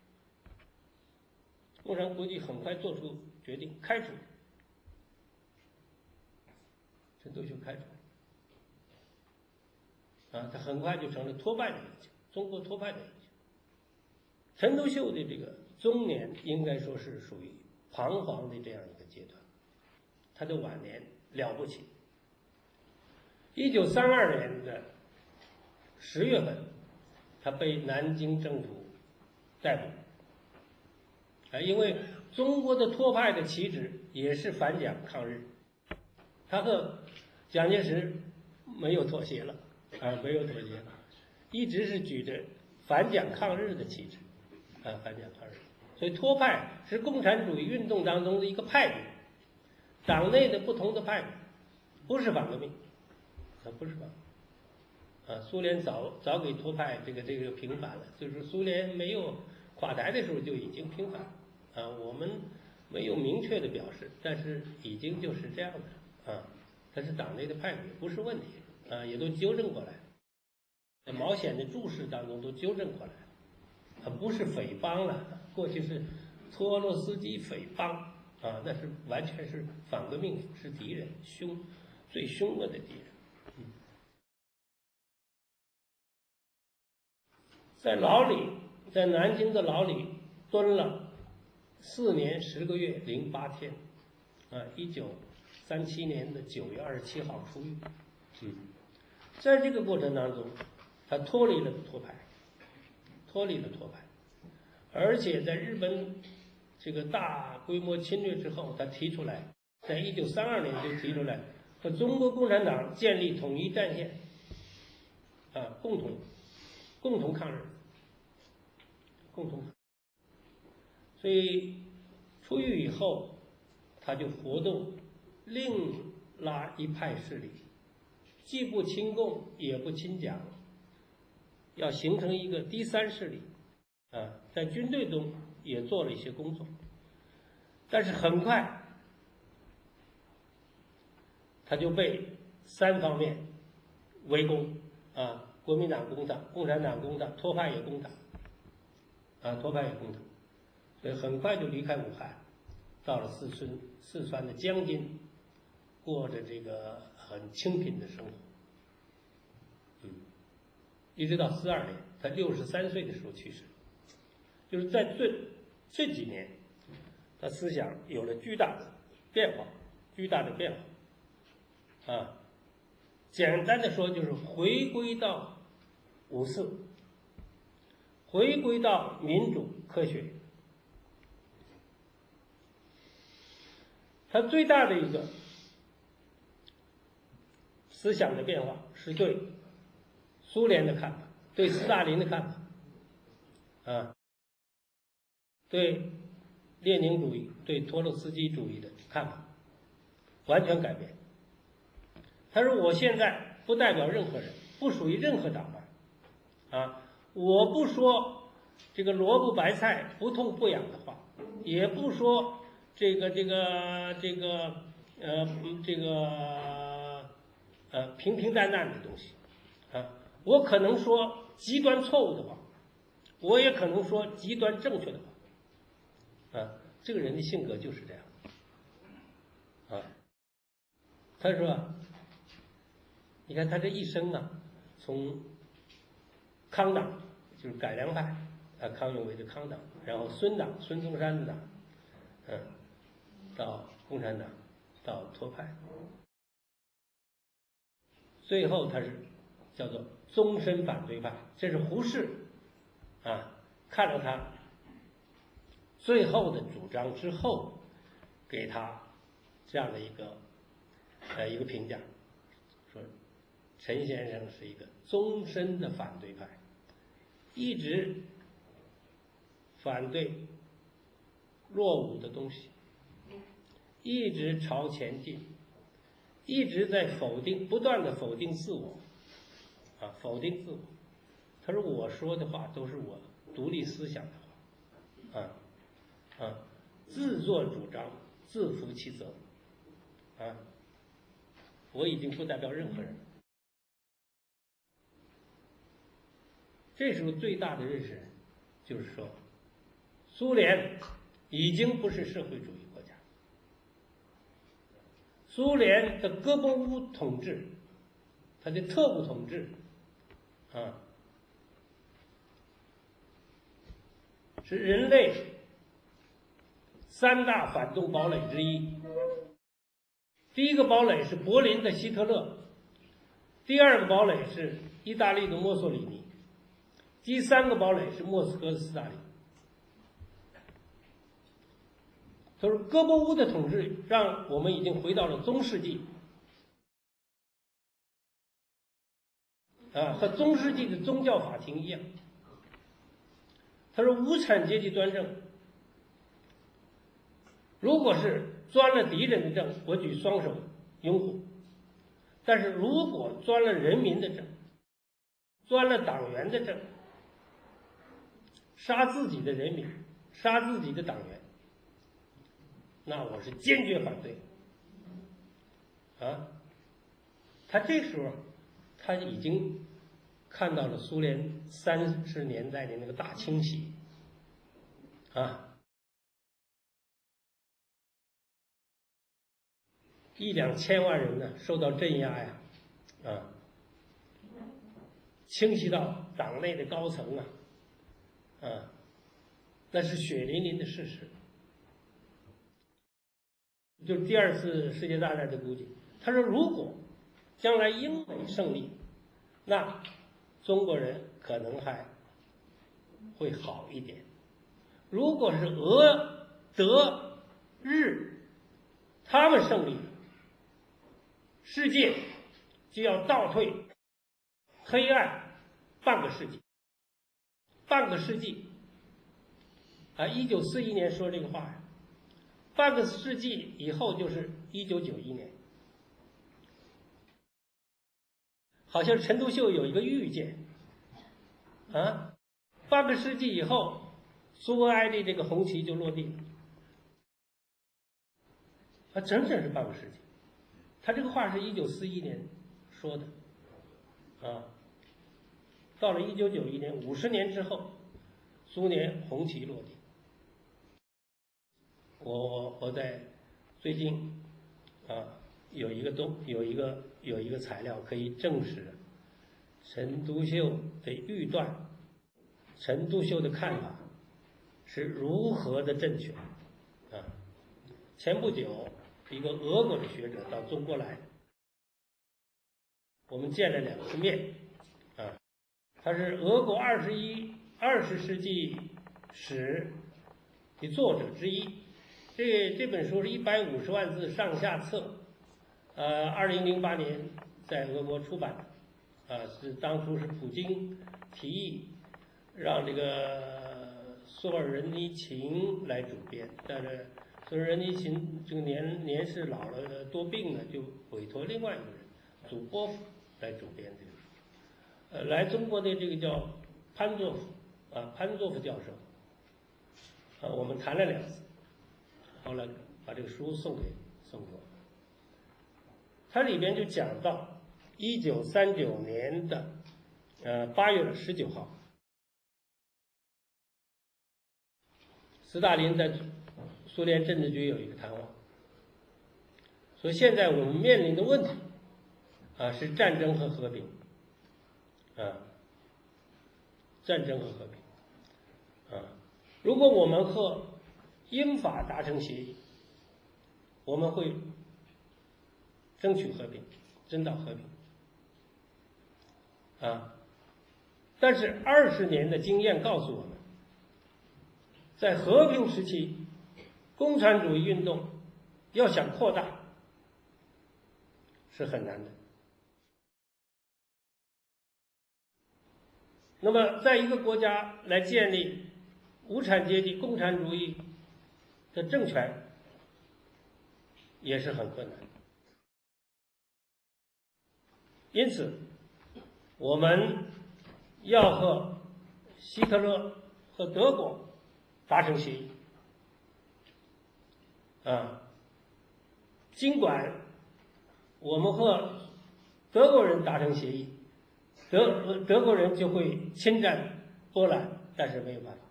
共产国际很快做出决定，开除陈独秀，开除他很快就成了托派的影响，中国托派的影响。陈独秀的这个中年应该说是属于彷徨的这样一个阶段，他的晚年了不起。1932年的10月份，他被南京政府逮捕因为中国的托派的旗帜也是反蒋抗日，他和蒋介石没有妥协了没有妥协了，一直是举着反蒋抗日的旗帜反蒋抗日。所以托派是共产主义运动当中的一个派别，党内的不同的派别，不是反革命不是反革命苏联早给托派这个平反了，就是苏联没有垮台的时候就已经平反我们没有明确的表示，但是已经就是这样的它是党内的派别，不是问题也都纠正过来，在毛显的注释当中都纠正过来了不是匪帮了，过去是托洛斯基匪帮那是完全是反革命，是敌人，最凶恶的敌人。在牢里，在南京的牢里蹲了4年10个月08天1937年的9月27号出狱在这个过程当中，他脱离了托派，而且在日本这个大规模侵略之后，他提出来，在1932年就提出来和中国共产党建立统一战线共同抗日，所以出狱以后，他就活动另拉一派势力，既不亲共也不亲蒋，要形成一个第三势力在军队中也做了一些工作，但是很快他就被3方面围攻国民党攻他，共产党攻他，托派也攻他所以很快就离开武汉，到了四川的江津，过着这个很清贫的生活一直到42年，他63岁的时候去世。就是在这几年，他思想有了巨大的变化简单的说，就是回归到五四，回归到民主科学。他最大的一个思想的变化是对苏联的看法，对斯大林的看法对列宁主义、对托洛斯基主义的看法完全改变。他说：“我现在不代表任何人，不属于任何党派，啊，我不说这个萝卜白菜不痛不痒的话，也不说平平淡淡的东西，啊，我可能说极端错误的话，我也可能说极端正确的话，啊，这个人的性格就是这样，啊，他说，你看他这一生啊，从康党就是改良派，啊，康有为的康党，然后孙党孙中山的党，到共产党，到托派。最后他是叫做终身反对派，这是胡适啊看了他最后的主张之后，给他这样的一个评价，说陈先生是一个终身的反对派，一直反对落伍的东西，一直朝前进，一直在不断的否定自我，啊，否定自我。他说我说的话都是我独立思想的话，自作主张，自负其责，啊，我已经不代表任何人。这时候最大的认识就是说，苏联已经不是社会主义国家。苏联的戈波乌统治，他的特务统治，啊，是人类3大反动堡垒之一。第一个堡垒是柏林的希特勒，第二个堡垒是意大利的墨索里尼，第三个堡垒是莫斯科的斯大林。他说戈波乌的统治让我们已经回到了中世纪，和中世纪的宗教法庭一样。他说无产阶级专政，如果是钻了敌人的政，我举双手拥护；但是如果钻了人民的政，钻了党员的政，杀自己的人民，杀自己的党员，那我是坚决反对。啊，他这时候他已经看到了苏联30年代的那个大清洗，啊，1、2千万人呢受到镇压呀，啊，清洗到党内的高层啊，那是血淋淋的事实。就第2次世界大战的估计，他说如果将来英美胜利，那中国人可能还会好一点。如果是俄、德、日他们胜利，世界就要倒退黑暗半个世纪。半个世纪啊，1941年说这个话呀，半个世纪以后就是1991年。好像陈独秀有一个预见，啊，半个世纪以后，苏维埃的这个红旗就落地了，啊，整整是半个世纪。他这个话是1941年说的，啊，到了1991年，50年之后，苏联红旗落地。我在最近有一个材料可以证实陈独秀的预断，陈独秀的看法是如何的正确啊！前不久，一个俄国的学者到中国来，我们见了2次面啊。他是俄国20世纪史的作者之一。这本书是150万字上下册，2008年在俄国出版的，是当初是普京提议让这个索尔仁尼琴来主编，但是索尔仁尼琴这个年事老了多病了，就委托另外一个人祖波夫来主编这个书。来中国的这个叫潘作夫教授，我们谈了2次，后来把这个书送给我。它里边就讲到1939年的8月19号，斯大林在苏联政治局有一个谈话，说现在我们面临的问题是战争和和平，战争和和平，如果我们和英法达成协议，我们会争取和平，争到和平，但是20年的经验告诉我们，在和平时期，共产主义运动要想扩大是很难的。那么在一个国家来建立无产阶级共产主义的政权也是很困难的。因此我们要和希特勒和德国达成协议，尽管我们和德国人达成协议，德国人就会侵占波兰，但是没有办法。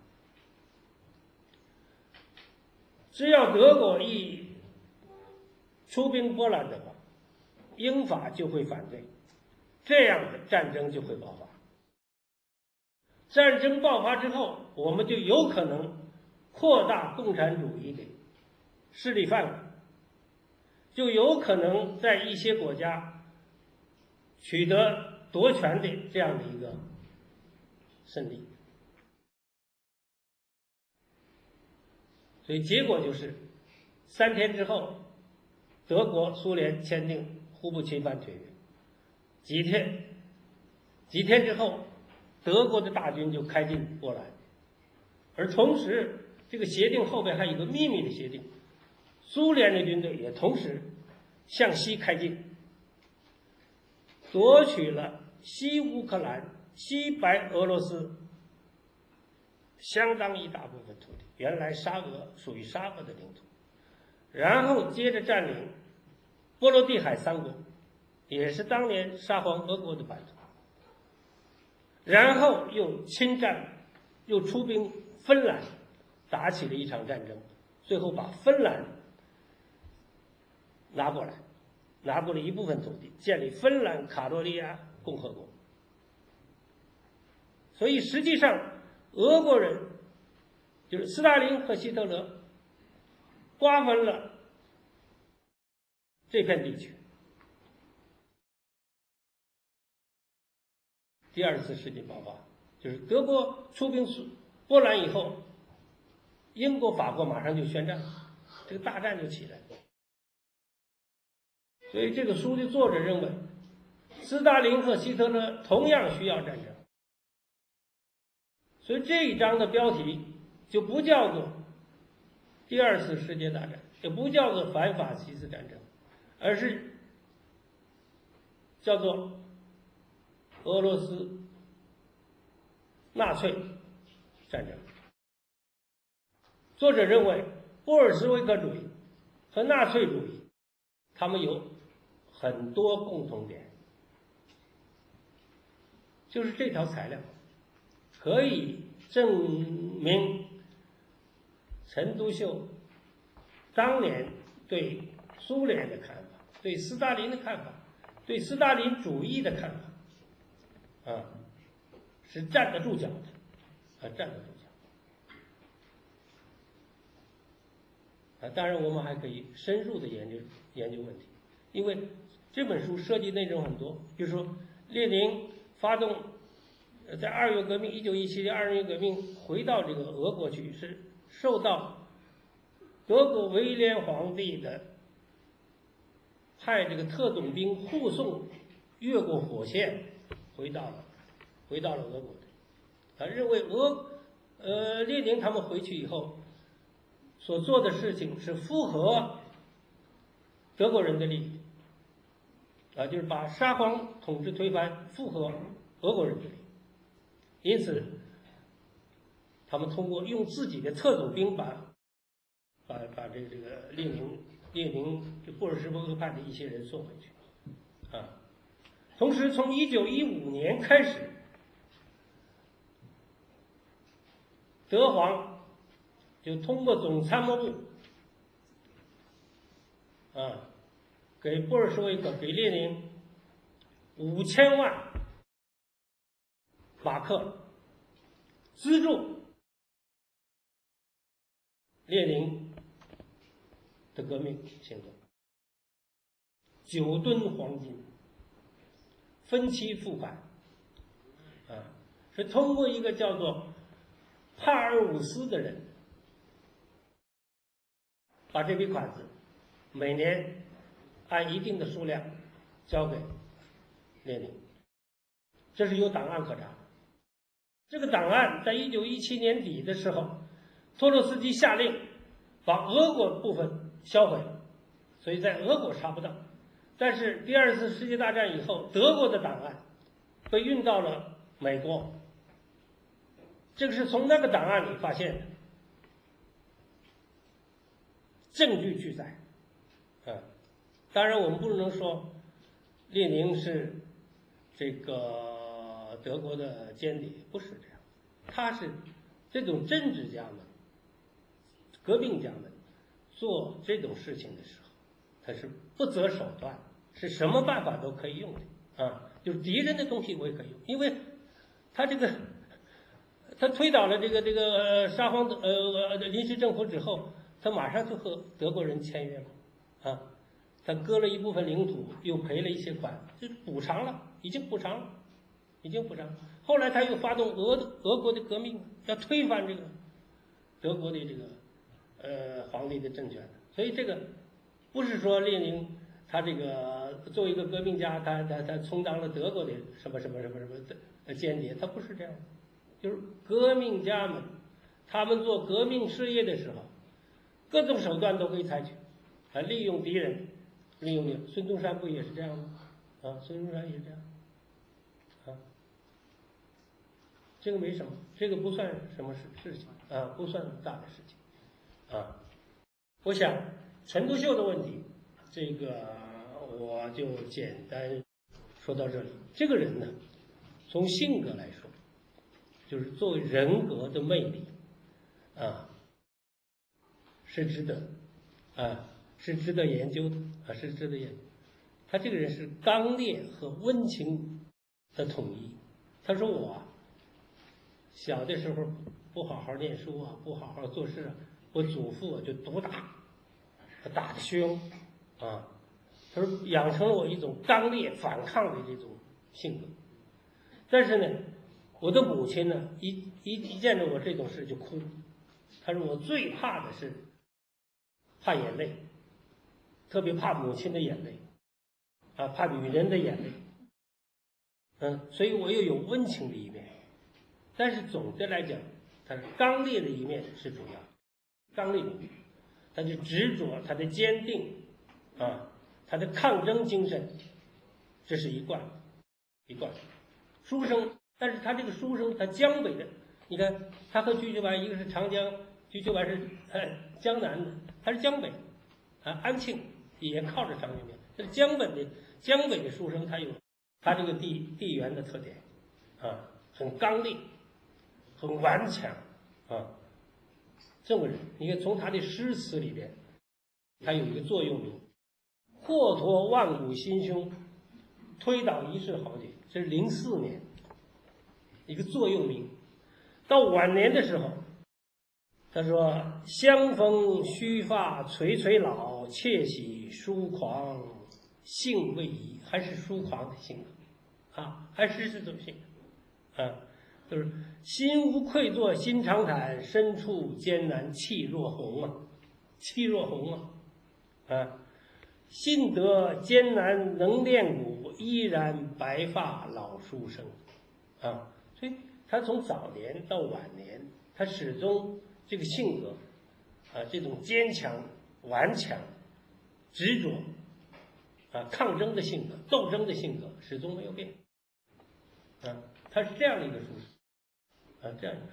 只要德国一出兵波兰的话，英法就会反对，这样的战争就会爆发。战争爆发之后，我们就有可能扩大共产主义的势力范围，就有可能在一些国家取得夺权的这样的一个胜利。所以结果就是3天之后，德国苏联签订互不侵犯条约，几天之后，德国的大军就开进波兰，而同时这个协定后边还有一个秘密的协定，苏联的军队也同时向西开进，夺取了西乌克兰、西白俄罗斯相当一大部分土地，原来属于沙俄的领土，然后接着占领波罗的海3国，也是当年沙皇俄国的版图，然后又侵占，又出兵芬兰，打起了一场战争，最后把芬兰拿过来，拿过了一部分土地，建立芬兰卡罗利亚共和国。所以实际上俄国人就是斯大林和希特勒瓜分了这片地区。第2次世界爆发，就是德国出兵波兰以后，英国、法国马上就宣战，这个大战就起来了。所以这个书的作者认为，斯大林和希特勒同样需要战争。所以这一章的标题就不叫做第2次世界大战，也不叫做反法西斯战争，而是叫做俄罗斯纳粹战争。作者认为，布尔什维克主义和纳粹主义，他们有很多共同点，就是这条材料可以证明陈独秀当年对苏联的看法，对斯大林的看法，对斯大林主义的看法，是站得住脚的，站得住脚。当然我们还可以深入的研究问题，因为这本书涉及内容很多，比如说列宁发动在2月革命，1917年2月革命回到这个俄国去，是受到德国威廉皇帝的派这个特种兵护送，越过火线回到了俄国的。他认为列宁他们回去以后所做的事情是符合德国人的利益，就是把沙皇统治推翻，符合俄国人的利益。因此，他们通过用自己的特种兵把这个列宁就布尔什维克派的一些人送回去，同时从1915年开始，德皇就通过总参谋部，给布尔什维克给列宁5000万马克资助列宁的革命行动，9吨黄金，分期付款，是通过一个叫做帕尔伍斯的人，把这笔款子每年按一定的数量交给列宁，这是有档案可查。这个档案在1917年底的时候，托洛斯基下令把俄国部分销毁，所以在俄国查不到。但是第二次世界大战以后，德国的档案被运到了美国，这个是从那个档案里发现的，证据俱在。当然我们不能说列宁是这个德国的间谍，不是这样，他是这种政治家们、革命家们做这种事情的时候，他是不择手段，是什么办法都可以用的就是敌人的东西我也可以用，因为他推倒了这个沙皇临时政府之后，他马上就和德国人签约了他割了一部分领土，又赔了一些款，就补偿了，已经补偿了。后来他又发动俄国的革命，要推翻这个德国的这个皇帝的政权。所以这个不是说列宁他这个作为一个革命家，他充当了德国的什么的间谍，他不是这样的。就是革命家们，他们做革命事业的时候，各种手段都可以采取，利用敌人。孙中山不也是这样吗？孙中山也是这样，这个没什么，这个不算什么事情不算大的事情我想陈独秀的问题，这个我就简单说到这里。这个人呢，从性格来说，就是作为人格的魅力是值得是值得研究的是值得研究。他这个人是刚烈和温情的统一。他说我小的时候不好好念书不好好做事我祖父就毒打，他打得凶他说养成了我一种刚烈反抗的这种性格。但是呢，我的母亲呢，一见着我这种事就哭。他说我最怕的是怕眼泪，特别怕母亲的眼泪怕女人的眼泪所以我又有温情的一面，但是总的来讲，他是刚烈的一面是主要，刚烈的一面，他的执着，他的坚定他的抗争精神，这是一贯书生。但是他这个书生，他江北的，你看他和瞿秋白一个是长江，瞿秋白是江南的，他是江北安庆也靠着长江边，这是江北的书生，他有他这个地缘的特点很刚烈，很顽强这个人你看从他的诗词里边，他有一个座右铭：霍托万古心胸，推倒一世豪杰。这是04年一个座右铭。到晚年的时候，他说：相逢须发垂垂老，窃喜疏狂性未移。还是疏狂的性格还是这种性格就是心无愧作心常坦，身处艰难气若虹信得艰难能练骨，依然白发老书生所以他从早年到晚年， 他始终这个性格这种坚强、顽强、执着抗争的性格、斗争的性格始终没有变他是这样的一个书生这样一个书。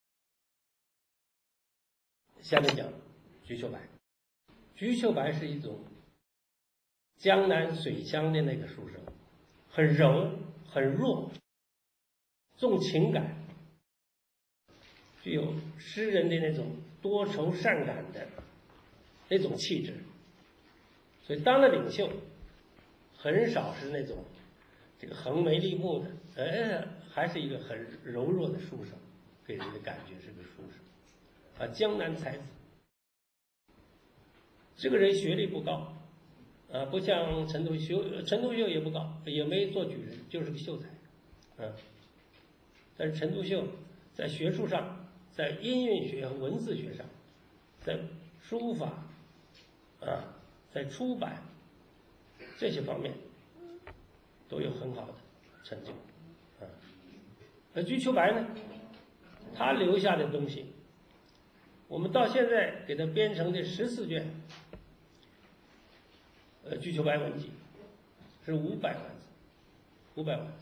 下面讲瞿秋白。瞿秋白是一种江南水乡的那个书生，很柔很弱，重情感，具有诗人的那种多愁善感的那种气质，所以当了领袖很少是那种这个横眉立目的，还是一个很柔弱的书生，给人的感觉是个书生江南才子。这个人学历不高不像陈独秀，陈独秀也不高，也没做举人，就是个秀才但是陈独秀在学术上，在音韵学和文字学上，在书法在出版这些方面都有很好的成就而瞿秋白呢，他留下的东西，我们到现在给他编成的14卷瞿秋白文集是500万字，500万。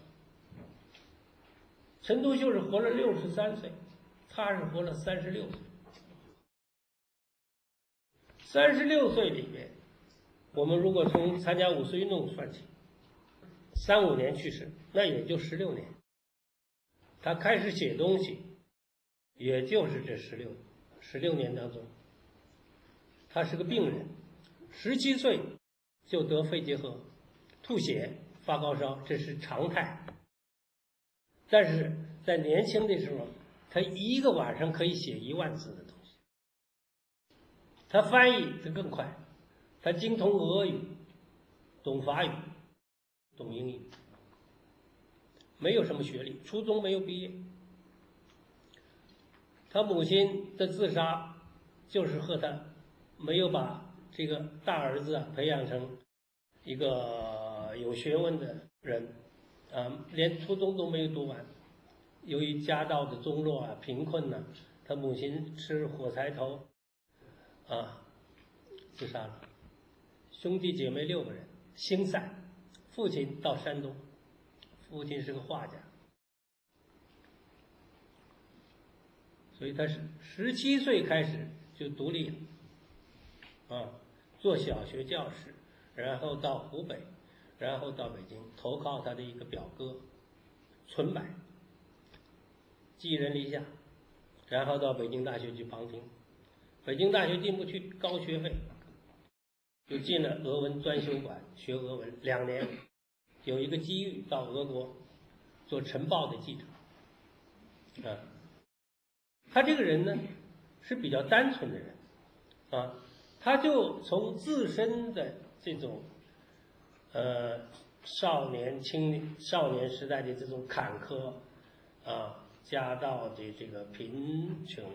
陈独秀是活了63岁，他是活了36岁。36岁里面，我们如果从参加五四运动算起，35年去世，那也就16年。他开始写东西，也就是这16年当中，他是个病人，17岁就得肺结核、吐血、发高烧，这是常态。但是在年轻的时候，他一个晚上可以写1万字的东西。他翻译得更快，他精通俄语，懂法语，懂英语，没有什么学历，初中没有毕业。他母亲的自杀就是和他没有把这个大儿子培养成一个有学问的人连初中都没有读完。由于家道的中落贫困他母亲吃火柴头自杀了。兄弟姐妹6个人星散，父亲到山东，父亲是个画家，所以他是17岁开始就独立了做小学教师，然后到湖北，然后到北京，投靠他的一个表哥存柏，寄人篱下，然后到北京大学去旁听，北京大学进不去，高学费，就进了俄文专修馆学俄文2年，有一个机遇到俄国做晨报的记者他这个人呢是比较单纯的人他就从自身的这种少年时代的这种坎坷家道的这个贫穷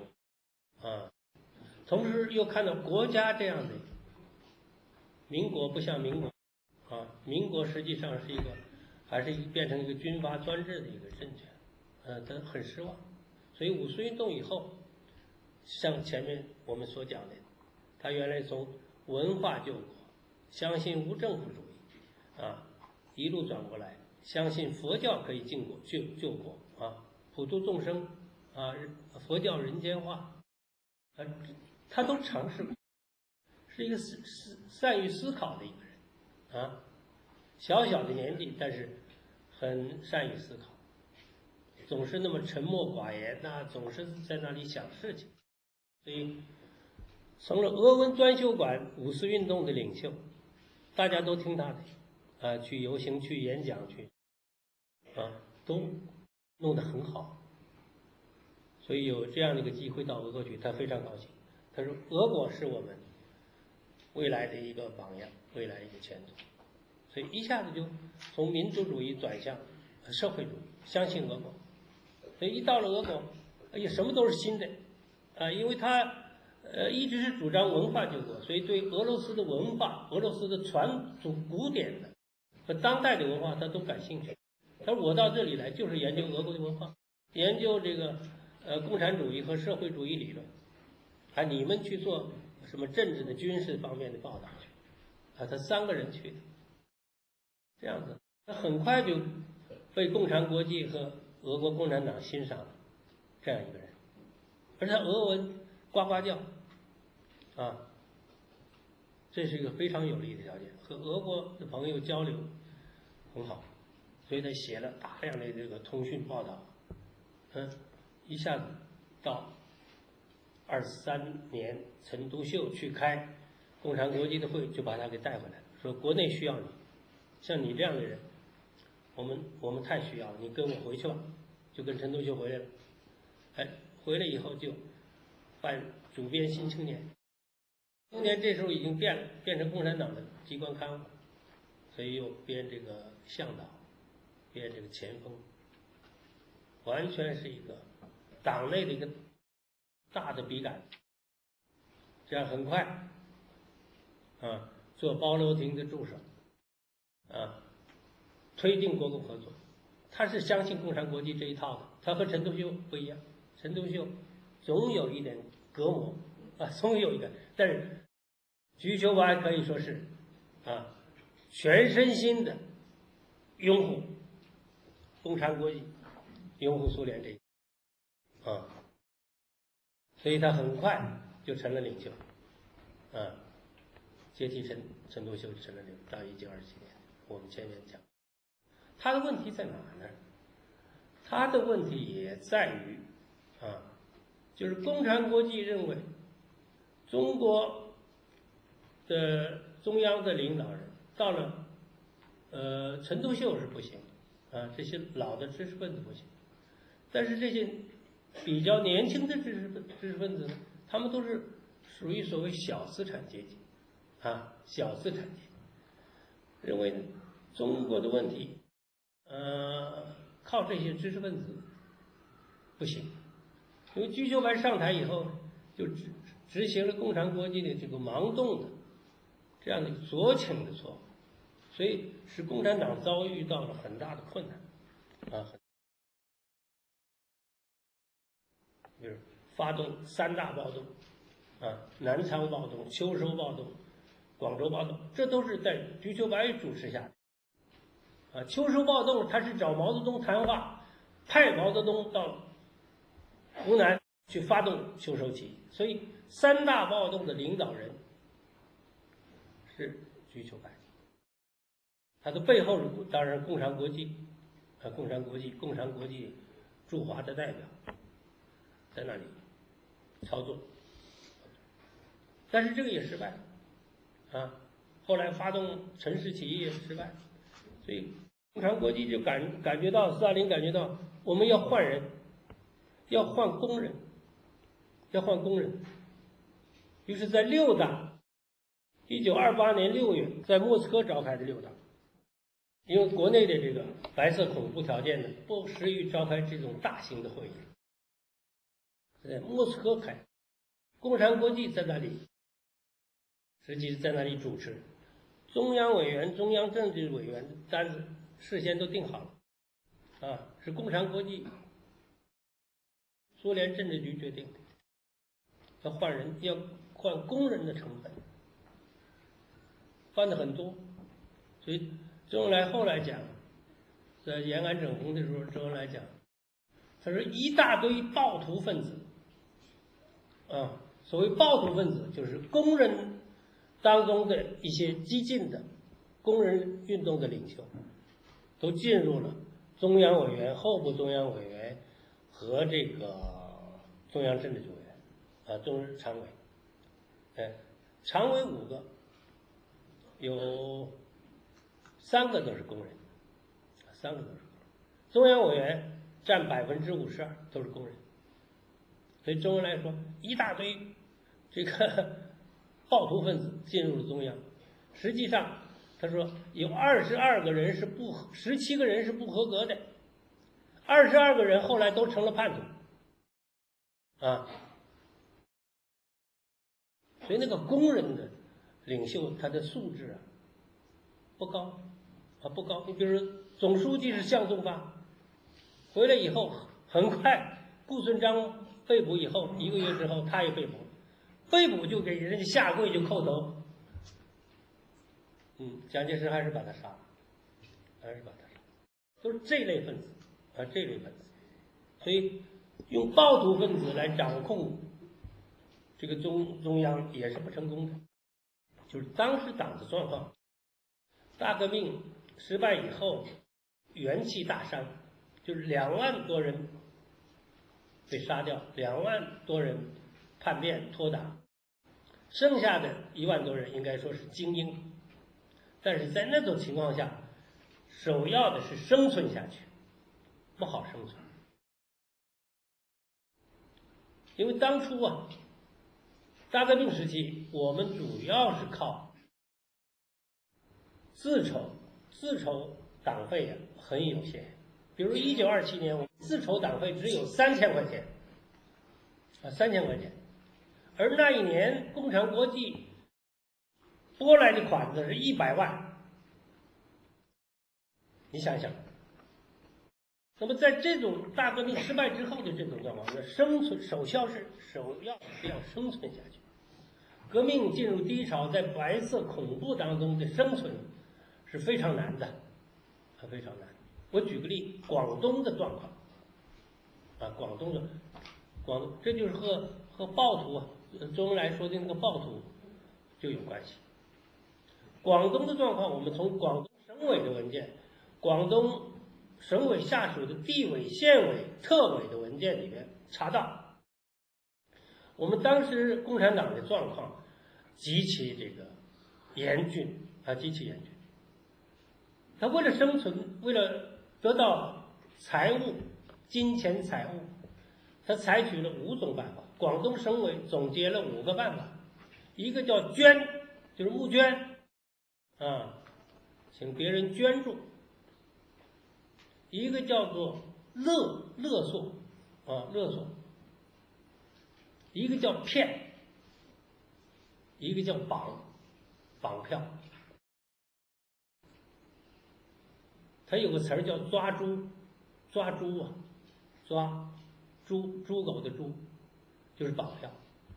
同时又看到国家这样的民国不像民国民国实际上是还是变成一个军阀专制的一个政权他很失望。所以五四运动以后，像前面我们所讲的，他原来从文化救国，相信无政府主义一路转过来，相信佛教可以救国普度众生佛教人间化他都尝试过，是一个善于思考的一个人小小的年纪，但是很善于思考，总是那么沉默寡言总是在那里想事情，所以成了俄文专修馆五四运动的领袖，大家都听他的去游行去演讲去都弄得很好。所以有这样的一个机会到俄国去，他非常高兴。他说俄国是我们未来的一个榜样，未来一个前途。所以一下子就从民族主义转向社会主义，相信俄国。所以一到了俄国什么都是新的因为他一直是主张文化救国，所以对俄罗斯的文化、俄罗斯的传统古典的和当代的文化他都感兴趣。他说我到这里来就是研究俄国的文化，研究这个共产主义和社会主义理论，你们去做什么政治的、军事方面的报道去，他3个人去的，这样子，他很快就被共产国际和俄国共产党欣赏了，这样一个人，而他俄文呱呱叫，这是一个非常有利的条件，和俄国的朋友交流很好，所以他写了大量的这个通讯报道，一下子到23年，陈独秀去开共产国际的会，就把他给带回来了，说国内需要你，像你这样的人，我们太需要了，你跟我回去吧，就跟陈独秀回来了，回来以后就办主编《新青年》。青年这时候已经变了，变成共产党的机关刊物，所以又编这个向导，编这个前锋，完全是一个党内的一个大的笔杆。这样很快，做包罗廷的助手，推进国共合作。他是相信共产国际这一套的，他和陈独秀不一样，陈独秀总有一点隔膜，总有一个，但是瞿秋白可以说是全身心的拥护共产国际，拥护苏联这一所以他很快就成了领袖，接替陈独秀成了领袖。到1927年，我们前面讲，他的问题在哪呢？他的问题也在于就是共产国际认为中国的中央的领导人到了陈独秀是不行这些老的知识分子不行，但是这些比较年轻的知识分子呢，他们都是属于所谓小资产阶级小资产阶级，认为中国的问题靠这些知识分子不行，因为瞿秋白上台以后就执行了共产国际的这个盲动的这样的左倾的错误，所以使共产党遭遇到了很大的困难比如发动3大暴动南昌暴动、秋收暴动、广州暴动，这都是在瞿秋白主持下的秋收暴动他是找毛泽东谈话，派毛泽东到湖南去发动秋收起义，所以3大暴动的领导人是瞿秋白，他的背后是当然共产国际驻华的代表在那里操作，但是这个也失败了后来发动陈氏起义也失败了，所以共产国际就感觉到，斯大林感觉到我们要换人，要换工人，于是在6大1928年6月在莫斯科召开的6大，因为国内的这个白色恐怖条件呢，不适于召开这种大型的会议，在莫斯科开，共产国际在那里，实际是在那里主持，中央委员、中央政治委员的单子事先都定好了，是共产国际、苏联政治局决定的，要换人，要换工人的成本，换的很多，所以周恩来后来讲，在延安整风的时候，周恩来讲，他说一大堆暴徒分子，所谓暴徒分子就是工人当中的一些激进的工人运动的领袖，都进入了中央委员、候补中央委员和这个中央政治局委员，中日常委，常委5个，有3个都是工人，3个都是工人，中央委员占52%都是工人，所以周恩来说一大堆这个暴徒分子进入了中央，实际上他说有22个人是17个人是不合格的，22个人后来都成了叛徒所以那个工人的领袖他的素质不高不高。你比如说总书记是向宗发，回来以后很快顾顺章被捕以后，1个月之后他也被捕，被捕就给人家下跪就叩头。蒋介石还是把他杀了，都是这类分子这类分子。所以用暴徒分子来掌控这个中央也是不成功的。就是当时党的状况，大革命失败以后，元气大伤，就是2万多人被杀掉，2万多人叛变脱党，剩下的1万多人应该说是精英。但是在那种情况下，首要的是生存下去，不好生存。因为当初大革命时期，我们主要是靠自筹党费很有限。比如1927年，我们自筹党费只有3000块钱，3000块钱，而那一年共产国际拨来的款子是100万，你想想。那么在这种大革命失败之后的这种状况，生存首要是要生存下去。革命进入低潮，在白色恐怖当中的生存是非常难的，非常难。我举个例，广东的状况广东，这就是和暴徒周恩来说的那个暴徒就有关系。广东的状况，我们从广东省委的文件、广东省委下属的地委、县委、特委的文件里面查到，我们当时共产党的状况极其严峻极其严峻。他为了生存，为了得到金钱财物，他采取了5种办法。广东省委总结了5个办法，一个叫捐，就是募捐请别人捐助；一个叫做勒索，一个叫骗，一个叫绑票。它有个词儿叫抓猪猪狗的猪，就是绑票。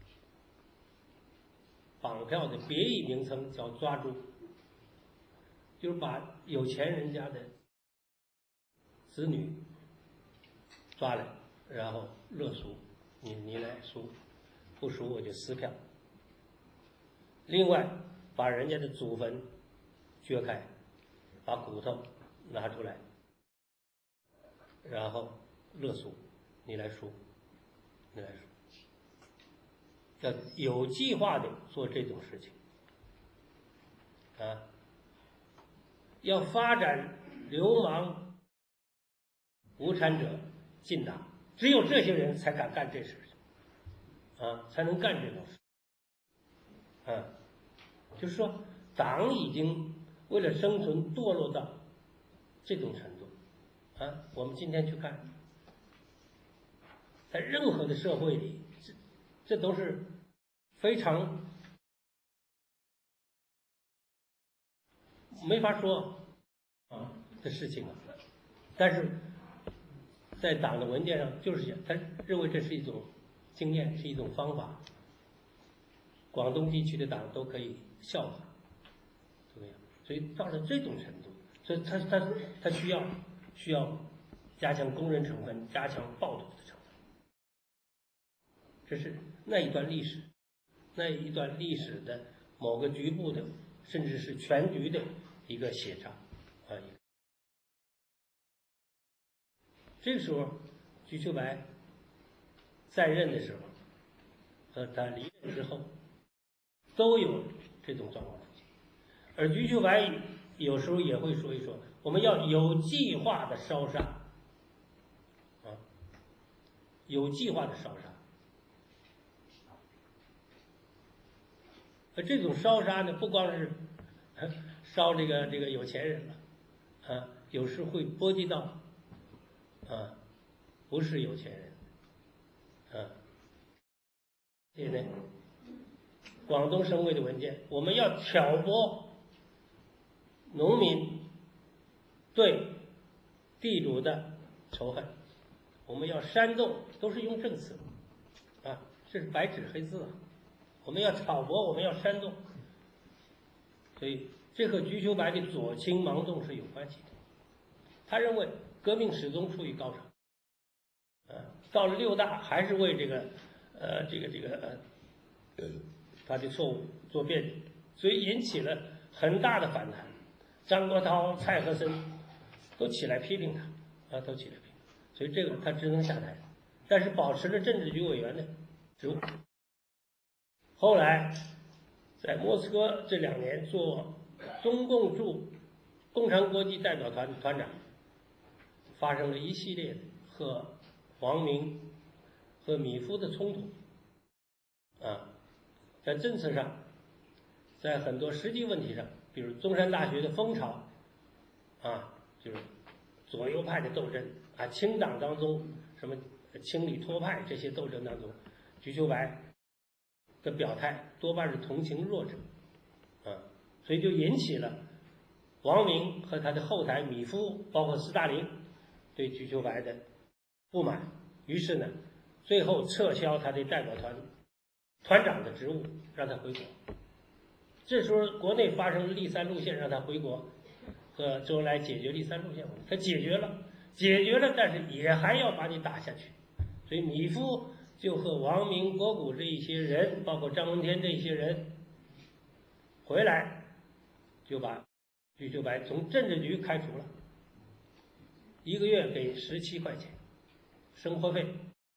绑票的别义名称叫抓猪，就是把有钱人家的子女抓来，然后勒赎，你来赎，不赎我就撕票。另外，把人家的祖坟掘开，把骨头拿出来，然后勒赎，你来赎，要有计划的做这种事情要发展流氓无产者进党，只有这些人才敢干这事情才能干这种事就是说党已经为了生存堕落到这种程度我们今天去看，在任何的社会里，这都是非常没法说的事情但是在党的文件上就是他认为这是一种经验，是一种方法，广东地区的党都可以效法，对吧？所以到了这种程度，所以他需要加强工人成分，加强暴徒的成分。这是那一段历史的某个局部的，甚至是全局的一个写照这个时候，瞿秋白在任的时候和他离任之后，都有这种状况出现。而瞿秋白有时候也会说一说，我们要有计划的烧杀有计划的烧杀。而这种烧杀呢，不光是烧这个有钱人了有时会波及到不是有钱人所以呢，广东省委的文件，我们要挑拨农民对地主的仇恨， 我们要煽动，都是用证词，啊，这是白纸黑字啊。我们要挑拨，我们要煽动，所以这和瞿秋白的左倾盲动是有关系的。他认为革命始终处于高潮，到了6大还是为他的错误做辩解，所以引起了很大的反弹。张国焘、蔡和森都起来批评他，都起来批评，所以这个他只能下台，但是保持了政治局委员的职务。后来在莫斯科这2年做中共驻共产国际代表团的团长，发生了一系列和王明和米夫的冲突，在政策上，在很多实际问题上，比如中山大学的风潮，就是左右派的斗争清党当中什么清理托派这些斗争当中，瞿秋白的表态多半是同情弱者，所以就引起了王明和他的后台米夫，包括斯大林对瞿秋白的不满，于是呢，最后撤销他的代表团团长的职务，让他回国。这时候国内发生了立3路线，让他回国和周恩来解决立3路线问题，他解决了，但是也还要把你打下去。所以米夫就和王明、国古这一些人，包括张闻天这一些人回来，就把瞿秋白从政治局开除了，1个月给17块钱生活费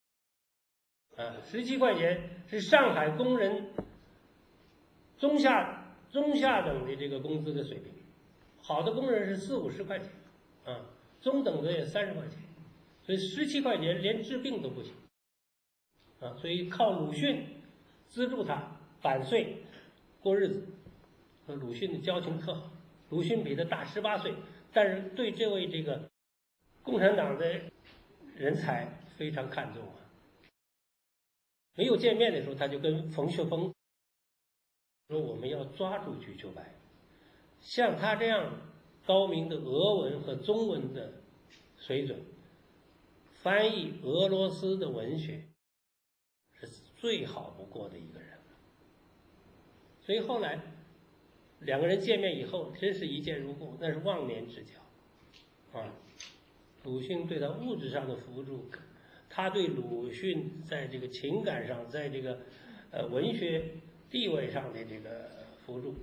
，17块钱是上海工人中下等的这个工资的水平，好的工人是40-50块钱，中等的也30块钱，所以17块钱连治病都不行，所以靠鲁迅资助他版税过日子，和鲁迅的交情特好，鲁迅比他大18岁，但是对这位这个共产党的人才非常看重没有见面的时候，他就跟冯学峰说，我们要抓住瞿秋白，像他这样高明的俄文和中文的水准，翻译俄罗斯的文学是最好不过的一个人了。所以后来2个人见面以后，真是一见如故，那是忘年之交鲁迅对他物质上的扶助，他对鲁迅在这个情感上，在这个文学地位上的这个扶助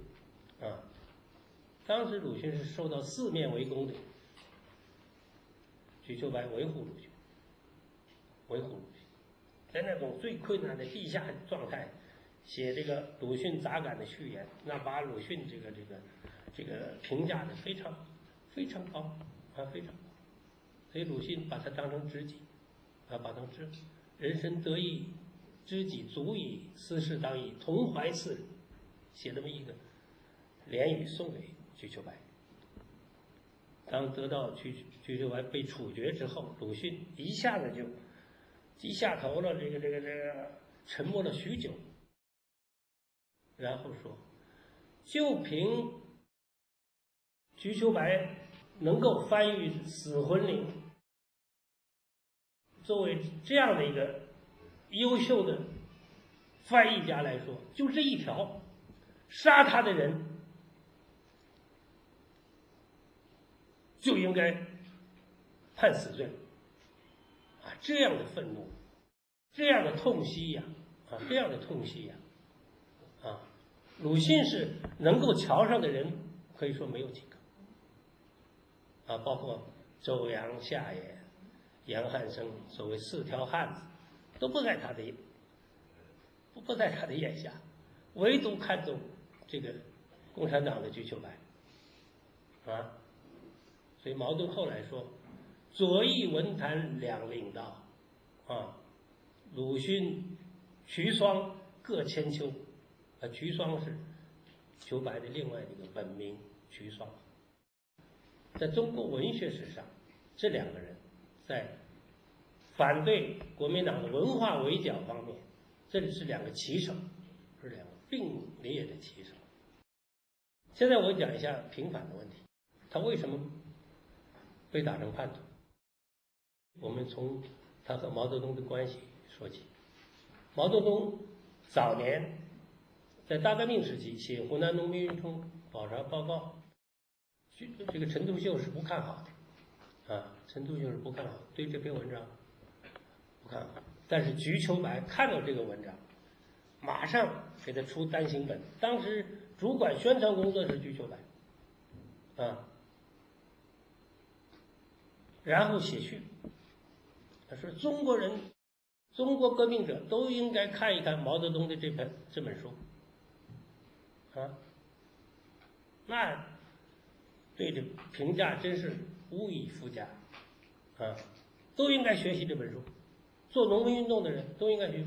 当时鲁迅是受到4面围攻的，瞿秋白维护鲁迅，在那种最困难的地下状态写这个鲁迅杂感的序言，那把鲁迅这个评价的非常非常高非常高，所以鲁迅把他当成知己把他人生得意知己足矣，斯事当以同怀次日，写这么一个联语送给瞿秋白。当得到瞿秋白被处决之后，鲁迅一下子就低下头了，这个沉默了许久，然后说，就凭瞿秋白能够翻译《死魂灵》，作为这样的一个优秀的翻译家来说，就这一条，杀他的人就应该判死罪这样的愤怒，这样的痛惜呀鲁迅是能够瞧上的人，可以说没有几个包括周扬、夏野、杨汉生，所谓4条汉子，都不在他的眼下，唯独看重这个共产党的瞿秋白所以茅盾后来说，左翼文坛两领导鲁迅、瞿双各千秋瞿双是秋白的另外一个本名瞿双。在中国文学史上，这2个人在反对国民党的文化围剿方面，这里是2个旗手，是2个并列的旗手。现在我讲一下平反的问题，他为什么被打成叛徒？我们从他和毛泽东的关系说起。毛泽东早年在大革命时期写湖南农民运动考察报告，这个陈独秀是不看好的，陈独秀是不看好，对这篇文章不看好。但是瞿秋白看到这个文章，马上给他出单行本。当时主管宣传工作是瞿秋白，然后写序，他说中国革命者都应该看一看毛泽东的这本书，那对这评价真是无以复加，都应该学习这本书，做农民运动的人都应该学习，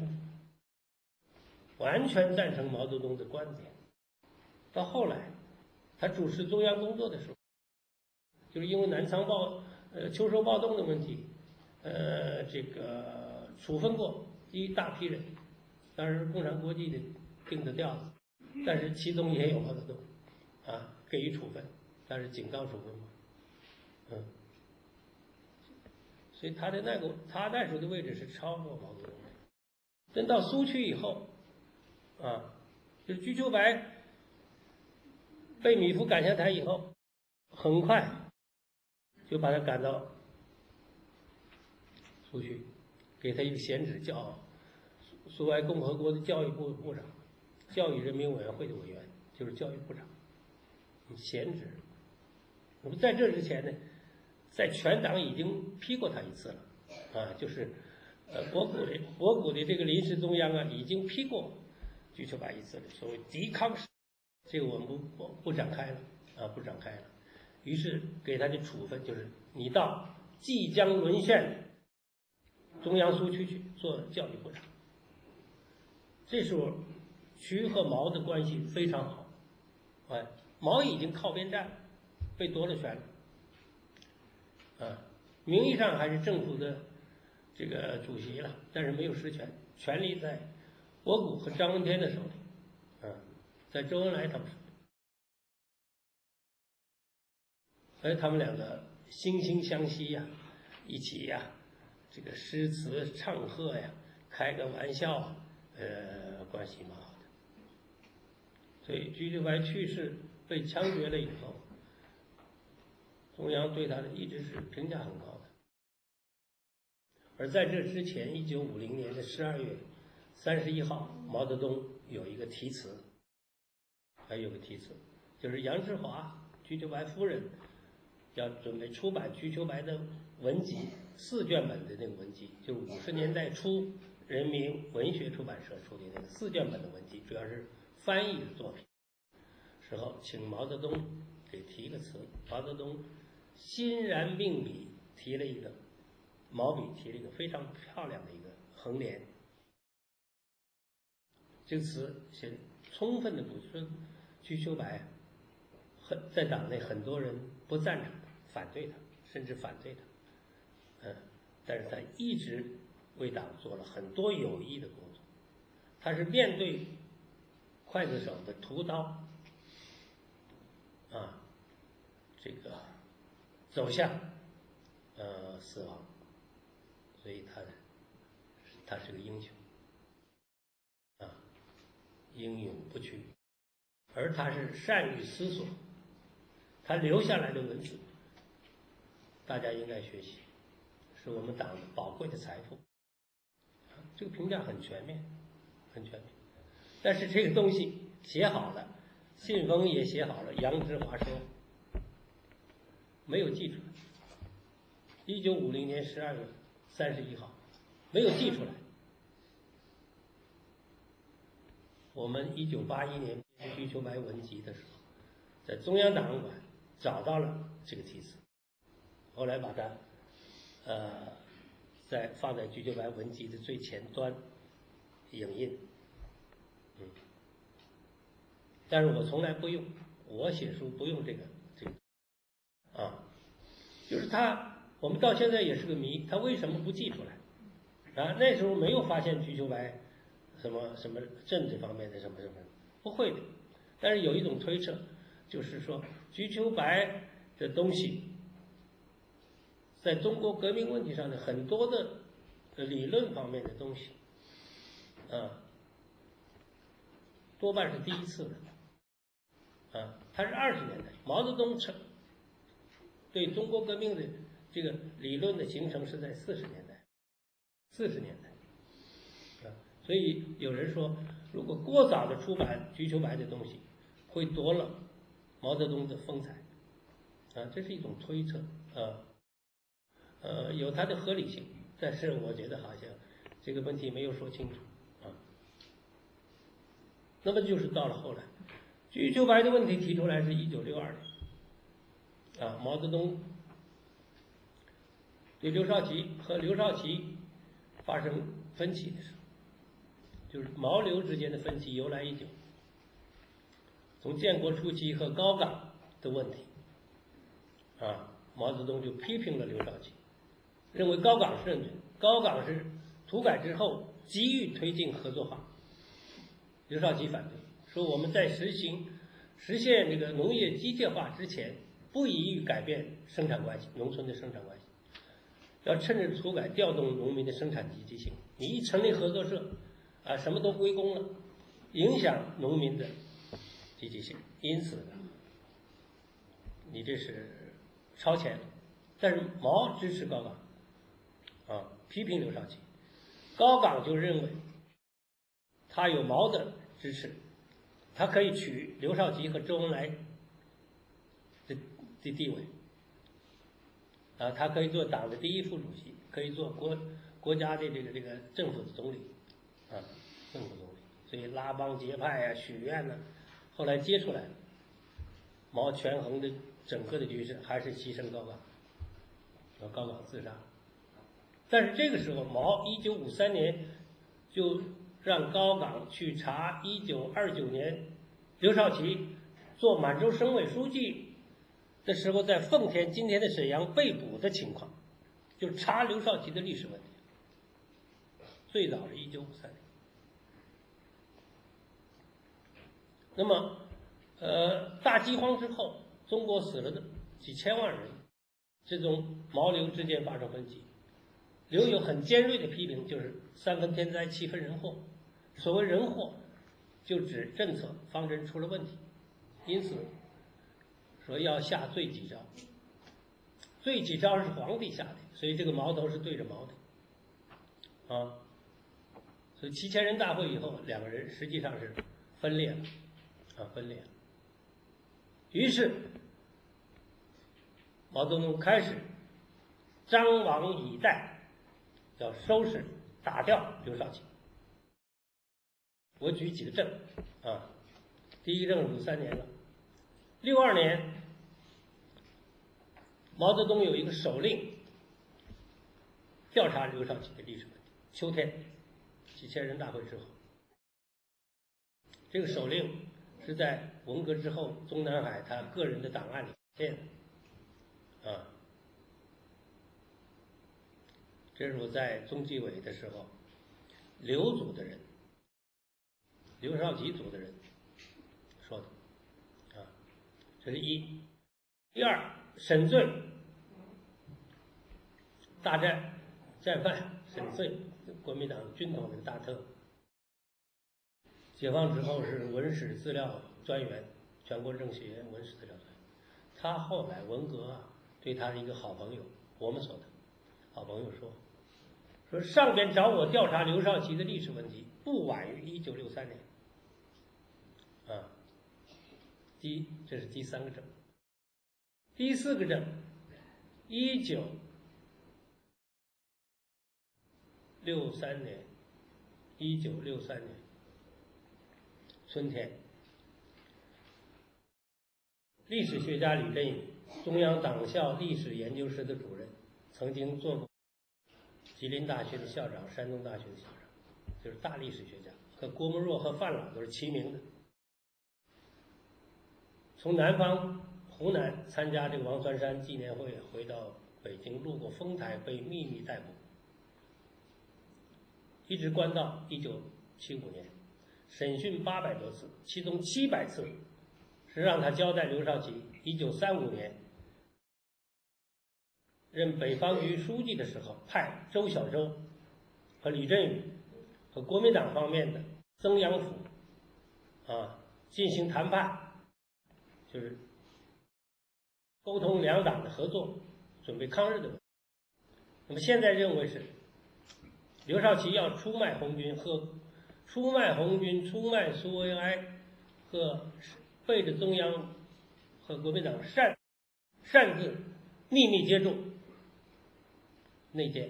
完全赞成毛泽东的观点。到后来，他主持中央工作的时候，就是因为南昌秋收暴动的问题，这个处分过一大批人，当然共产国际的定的调子，但是其中也有毛泽东，给予处分，但是警告处分嘛，所以他那时候的位置是超过毛泽东的。等到苏区以后，就是瞿秋白被米芾赶下台以后，很快就把他赶到苏区，给他一个闲职，叫苏维埃共和国的教育部部长，教育人民委员会的委员，就是教育部长，闲职。那么在这之前呢，在全党已经批过他一次了，就是博古的这个临时中央已经批过瞿秋白一次了，所谓抵抗史，这个我们不展开了，不展开了。于是给他的处分就是你到即将沦陷中央苏区去做教育部长。这时候瞿和毛的关系非常好，毛已经靠边站，被夺了权了，名义上还是政府的这个主席了，但是没有实权，权力在博古和张闻天的手里，在周恩来他们手里。所以他们两个惺惺相惜一起这个诗词唱和开个玩笑关系蛮好的。所以瞿秋白去世被枪决了以后，中央对他的一直是评价很高的。而在这之前，1950年的12月31号，毛泽东有一个题词，就是杨志华瞿秋白夫人要准备出版瞿秋白的文集4卷本的那个文集，就是50年代初人民文学出版社出的那个4卷本的文集，主要是翻译的作品。时候请毛泽东给提一个词，毛泽东欣然命笔提了一个毛笔提了一个非常漂亮的一个横联。这个词是充分的补充瞿秋白在党内很多人不赞成他，反对他，甚至反对他，但是他一直为党做了很多有益的工作。他是面对刽子手的屠刀，这个走向死亡，所以他是个英雄，英勇不屈，而他是善于思索，他留下来的文字，大家应该学习，是我们党的宝贵的财富。这个评价很全面，很全面。但是这个东西写好了，信封也写好了，杨志华说没有寄出来。1950年12月31号，没有寄出来。我们1981年瞿秋白文集的时候，在中央档案馆找到了这个题词，后来把它放在瞿秋白文集的最前端影印。但是我从来不用，我写书不用这个，就是我们到现在也是个谜，他为什么不寄出来？那时候没有发现瞿秋白什么政治方面的什么，不会的。但是有一种推测，就是说瞿秋白的东西，在中国革命问题上的很多的理论方面的东西，多半是第一次的，它是20年代，毛泽东对中国革命的这个理论的形成是在40年代，40年代，所以有人说，如果过早的出版瞿秋白的东西，会夺了毛泽东的风采，这是一种推测，有它的合理性，但是我觉得好像这个问题没有说清楚，那么就是到了后来，瞿秋白的问题提出来是1962年，毛泽东对刘少奇和刘少奇发生分歧的时候，就是毛刘之间的分歧由来已久。从建国初期和高岗的问题，毛泽东就批评了刘少奇，认为高岗是认真，高岗是土改之后急于推进合作化，刘少奇反对，说我们在实现这个农业机械化之前，不宜于改变生产关系，农村的生产关系，要趁着土改调动农民的生产积极性。你一成立合作社，什么都归公了，影响农民的积极性，因此你这是超前了。但是毛支持高岗，批评刘少奇，高岗就认为他有毛的支持，他可以取刘少奇和周恩来的地位，他可以做党的第一副主席，可以做国家的这个政府的总理，政府总理。所以拉帮结派许愿呢，后来接出来了，毛权衡的整个的局势还是牺牲高岗，高岗自杀。但是这个时候，毛1953年就让高岗去查1929年刘少奇做满洲省委书记的时候在奉天（今天的沈阳）被捕的情况，就查刘少奇的历史问题。最早是1953年。那么，大饥荒之后，中国死了几千万人，这种毛刘之间发生分歧。刘有很尖锐的批评，就是3分天灾7分人祸。所谓人祸，就指政策方针出了问题，因此说要下罪己诏。罪己诏是皇帝下的，所以这个矛头是对着毛的，所以7000人大会以后，两个人实际上是分裂了，分裂了。于是毛泽东开始张网以待，要收拾打掉刘少奇。我举几个证，第一个证53年了，62年毛泽东有一个手令调查刘少奇的历史问题，秋天7000人大会之后，这个手令是在文革之后中南海他个人的档案里写的，这是我在中纪委的时候，刘组的人，刘少奇组的人说的，这是一。第二，沈醉大战犯沈醉，国民党军统的大特，解放之后是文史资料专员，全国政协文史资料专员。他后来文革对他的一个好朋友，我们所的好朋友说上边找我调查刘少奇的历史问题，不晚于1963年。这是第3个证。第4个证，1963年春天，历史学家吕振宇，中央党校历史研究室的主任，曾经做过吉林大学的校长、山东大学的校长，就是大历史学家，和郭沫若和范老都是齐名的。从南方湖南参加这个王岐山纪念会，回到北京，路过丰台被秘密逮捕，一直关到1975年，审讯800多次，其中700次是让他交代刘少奇1935年任北方局书记的时候派周小舟和李振宇和国民党方面的曾阳甫进行谈判，就是沟通两党的合作，准备抗日的。那么现在认为是刘少奇要出卖红军出卖苏维埃和背着中央和国民党擅自秘密接触内奸，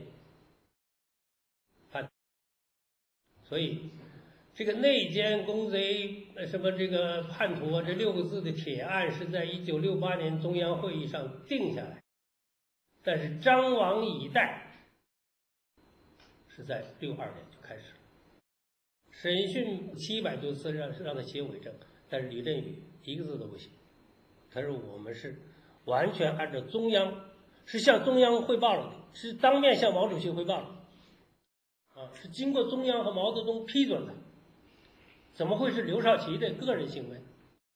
所以这个内奸公贼什么这个叛徒这6个字的铁案是在1968年中央会议上定下来，但是张王以待是在62年就开始了，审讯700多次让他写伪证，但是李振宇一个字都不写。他说我们是完全按照中央，是向中央汇报了的，是当面向毛主席汇报了，是经过中央和毛泽东批准的，怎么会是刘少奇的个人行为？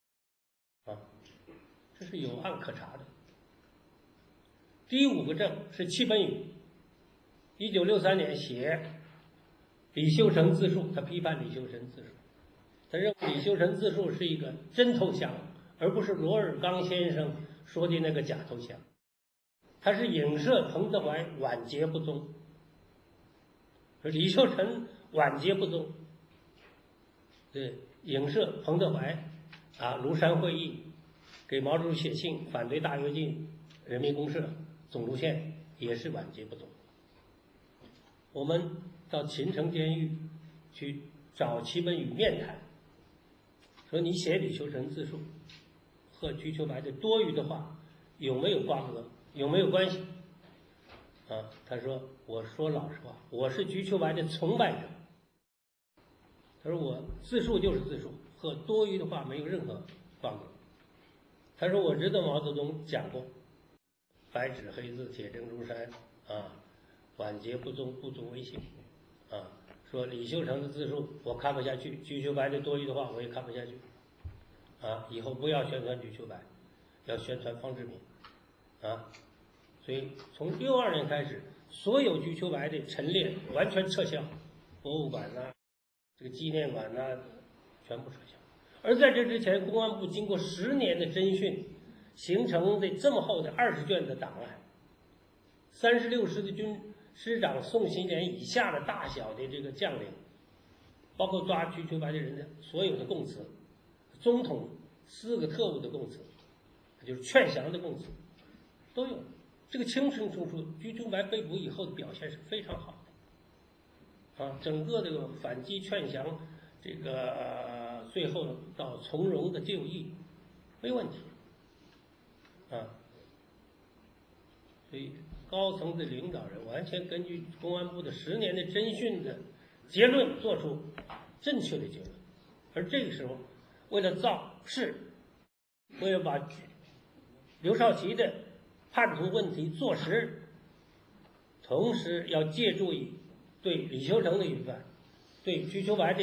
这是有案可查的。第5个证是戚本禹，1963年写李秀成自述，他批判李秀成自述，他认为李秀成自述是一个真投降，而不是罗尔刚先生说的那个假投降，他是影射彭德怀晚节不忠，李秀成晚节不忠，对，影射彭德怀庐山会议给毛主席写信反对大跃进，人民公社总路线也是晚节不忠。我们到秦城监狱去找戚本禹面谈，说你写李秀成自述和瞿秋白的多余的话有没有瓜葛，有没有关系？他说我说老实话，我是瞿秋白的崇拜者。他说我自述就是自述，和多余的话没有任何瓜葛。他说我知道毛泽东讲过白纸黑字铁证如山晚节不忠不足为信说李秀成的自述我看不下去，瞿秋白的多余的话我也看不下去以后不要宣传瞿秋白，要宣传方志敏所以从62年开始，所有瞿秋白的陈列完全撤销，博物馆这个纪念馆全部撤销。而在这之前，公安部经过10年的侦讯，形成的这么厚的20卷的档案，36师的军师长宋希濂以下的大小的这个将领，包括抓瞿秋白的人的所有的供词，总统4个特务的供词，就是劝降的供词，都有。这个清清楚楚，瞿秋白被捕以后的表现是非常好的，整个这个反击劝降，这个最后到从容的就义，没问题，所以高层的领导人完全根据公安部的10年的侦讯的结论做出正确的结论，而这个时候，为了造势，为了把刘少奇的叛徒问题坐实，同时要借助于对李秀成的批判，对瞿秋白的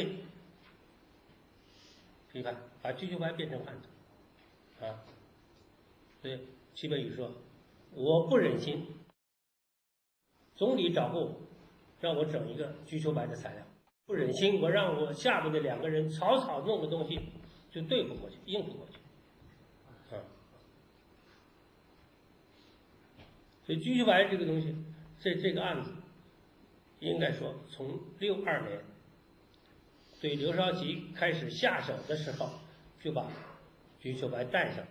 批判，把瞿秋白变成叛徒所以戚本禹说我不忍心，总理找过我，让我整一个瞿秋白的材料，不忍心我让我下面的2个人草草弄个东西就对付过去，应付过去所以瞿秋白这个东西，这个案子，应该说从62年对刘少奇开始下手的时候，就把瞿秋白带上，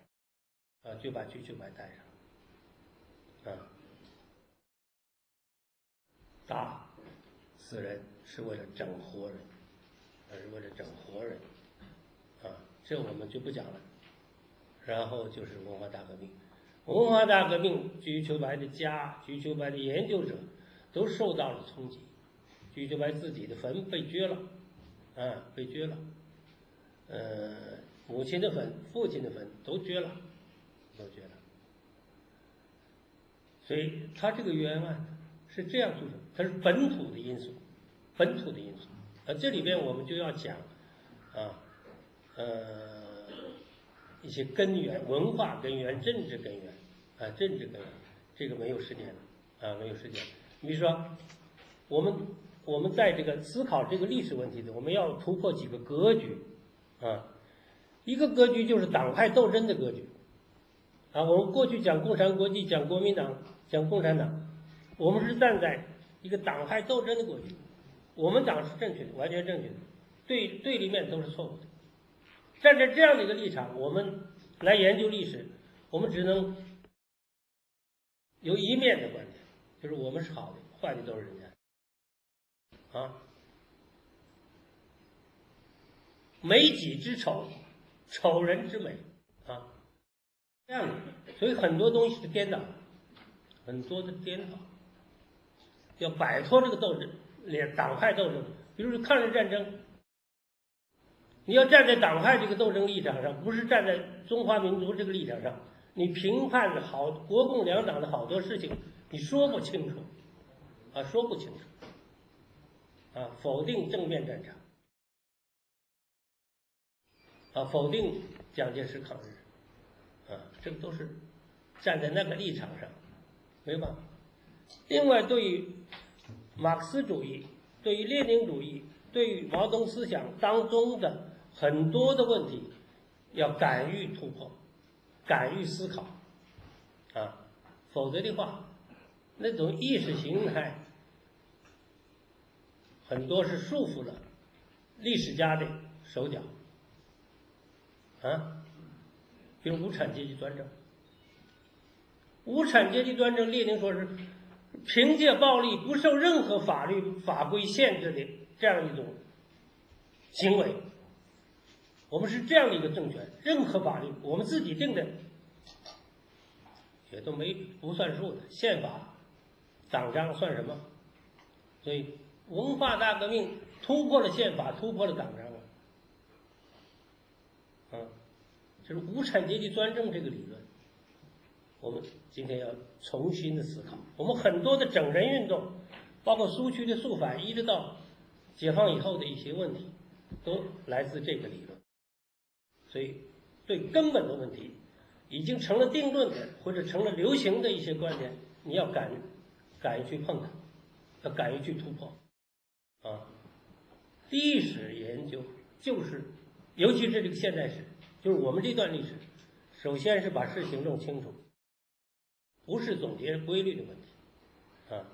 打死人是为了整活人，这我们就不讲了。然后就是文化大革命。文化大革命，瞿秋白的家、瞿秋白的研究者都受到了冲击。瞿秋白自己的坟被掘了，母亲的坟、父亲的坟都掘了。所以他这个冤案是这样组成，它是本土的因素。这里边我们就要讲一些根源，文化根源、政治根源，这个没有时间了，没有时间。比如说，我们我们在这个思考这个历史问题的，我们要突破几个格局啊。一个格局就是党派斗争的格局啊。我们过去讲共产国际、讲国民党、讲共产党，我们是站在一个党派斗争的格局。我们党是正确的，完全正确的，对立面都是错误的。站在这样的一个立场，我们来研究历史，我们只能有一面的观点，就是我们是好的，坏的都是人家啊。美己之丑，丑人之美啊，这样的。所以很多东西是颠倒，很多的颠倒，要摆脱这个斗争，党派斗争。比如说抗日战争，你要站在党派这个斗争立场上，不是站在中华民族这个立场上，你评判好国共两党的好多事情，你说不清楚啊，说不清楚啊，否定正面战场啊，否定蒋介石抗日啊，这个都是站在那个立场上，没办法。另外，对于马克思主义、对于列宁主义、对于毛泽东思想当中的很多的问题，要敢于突破，敢于思考啊，否则的话，那种意识形态很多是束缚了历史家的手脚啊。比如无产阶级专政，无产阶级专政，列宁说是凭借暴力不受任何法律法规限制的这样一种行为。我们是这样的一个政权，任何法律我们自己定的也都不算数的，宪法党章算什么？所以文化大革命突破了宪法，突破了党章啊，就是无产阶级专政这个理论，我们今天要重新的思考。我们很多的整人运动，包括苏区的肃反，一直到解放以后的一些问题，都来自这个理论。所以对根本的问题，已经成了定论的或者成了流行的一些观点，你要敢于去碰它，要敢于去突破啊。历史研究就是，尤其是这个现代史，就是我们这段历史，首先是把事情弄清楚，不是总结规律的问题啊。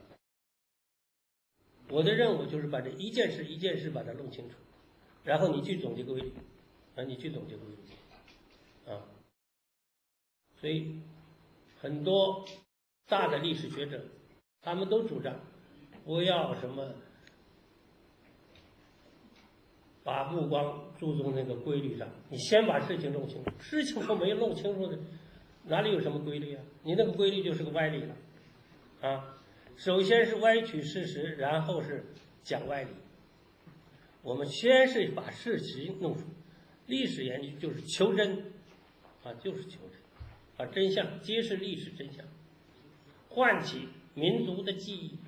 我的任务就是把这一件事一件事把它弄清楚，然后你去总结规律啊，你去总结规律啊。所以很多大的历史学者，他们都主张不要什么把目光注重那个规律上，你先把事情弄清楚，事情都没有弄清楚的，哪里有什么规律啊？你那个规律就是个歪理了啊！首先是歪曲事实，然后是讲歪理。我们先是把事情弄出，历史研究就是求真啊，就是求真，把真相揭示历史真相，唤起民族的记忆，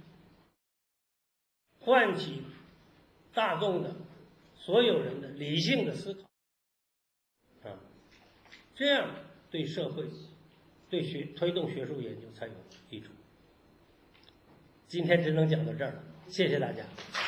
唤起大众的所有人的理性的思考啊，这样对社会、对推动学术研究才有益处。今天只能讲到这儿了，谢谢大家。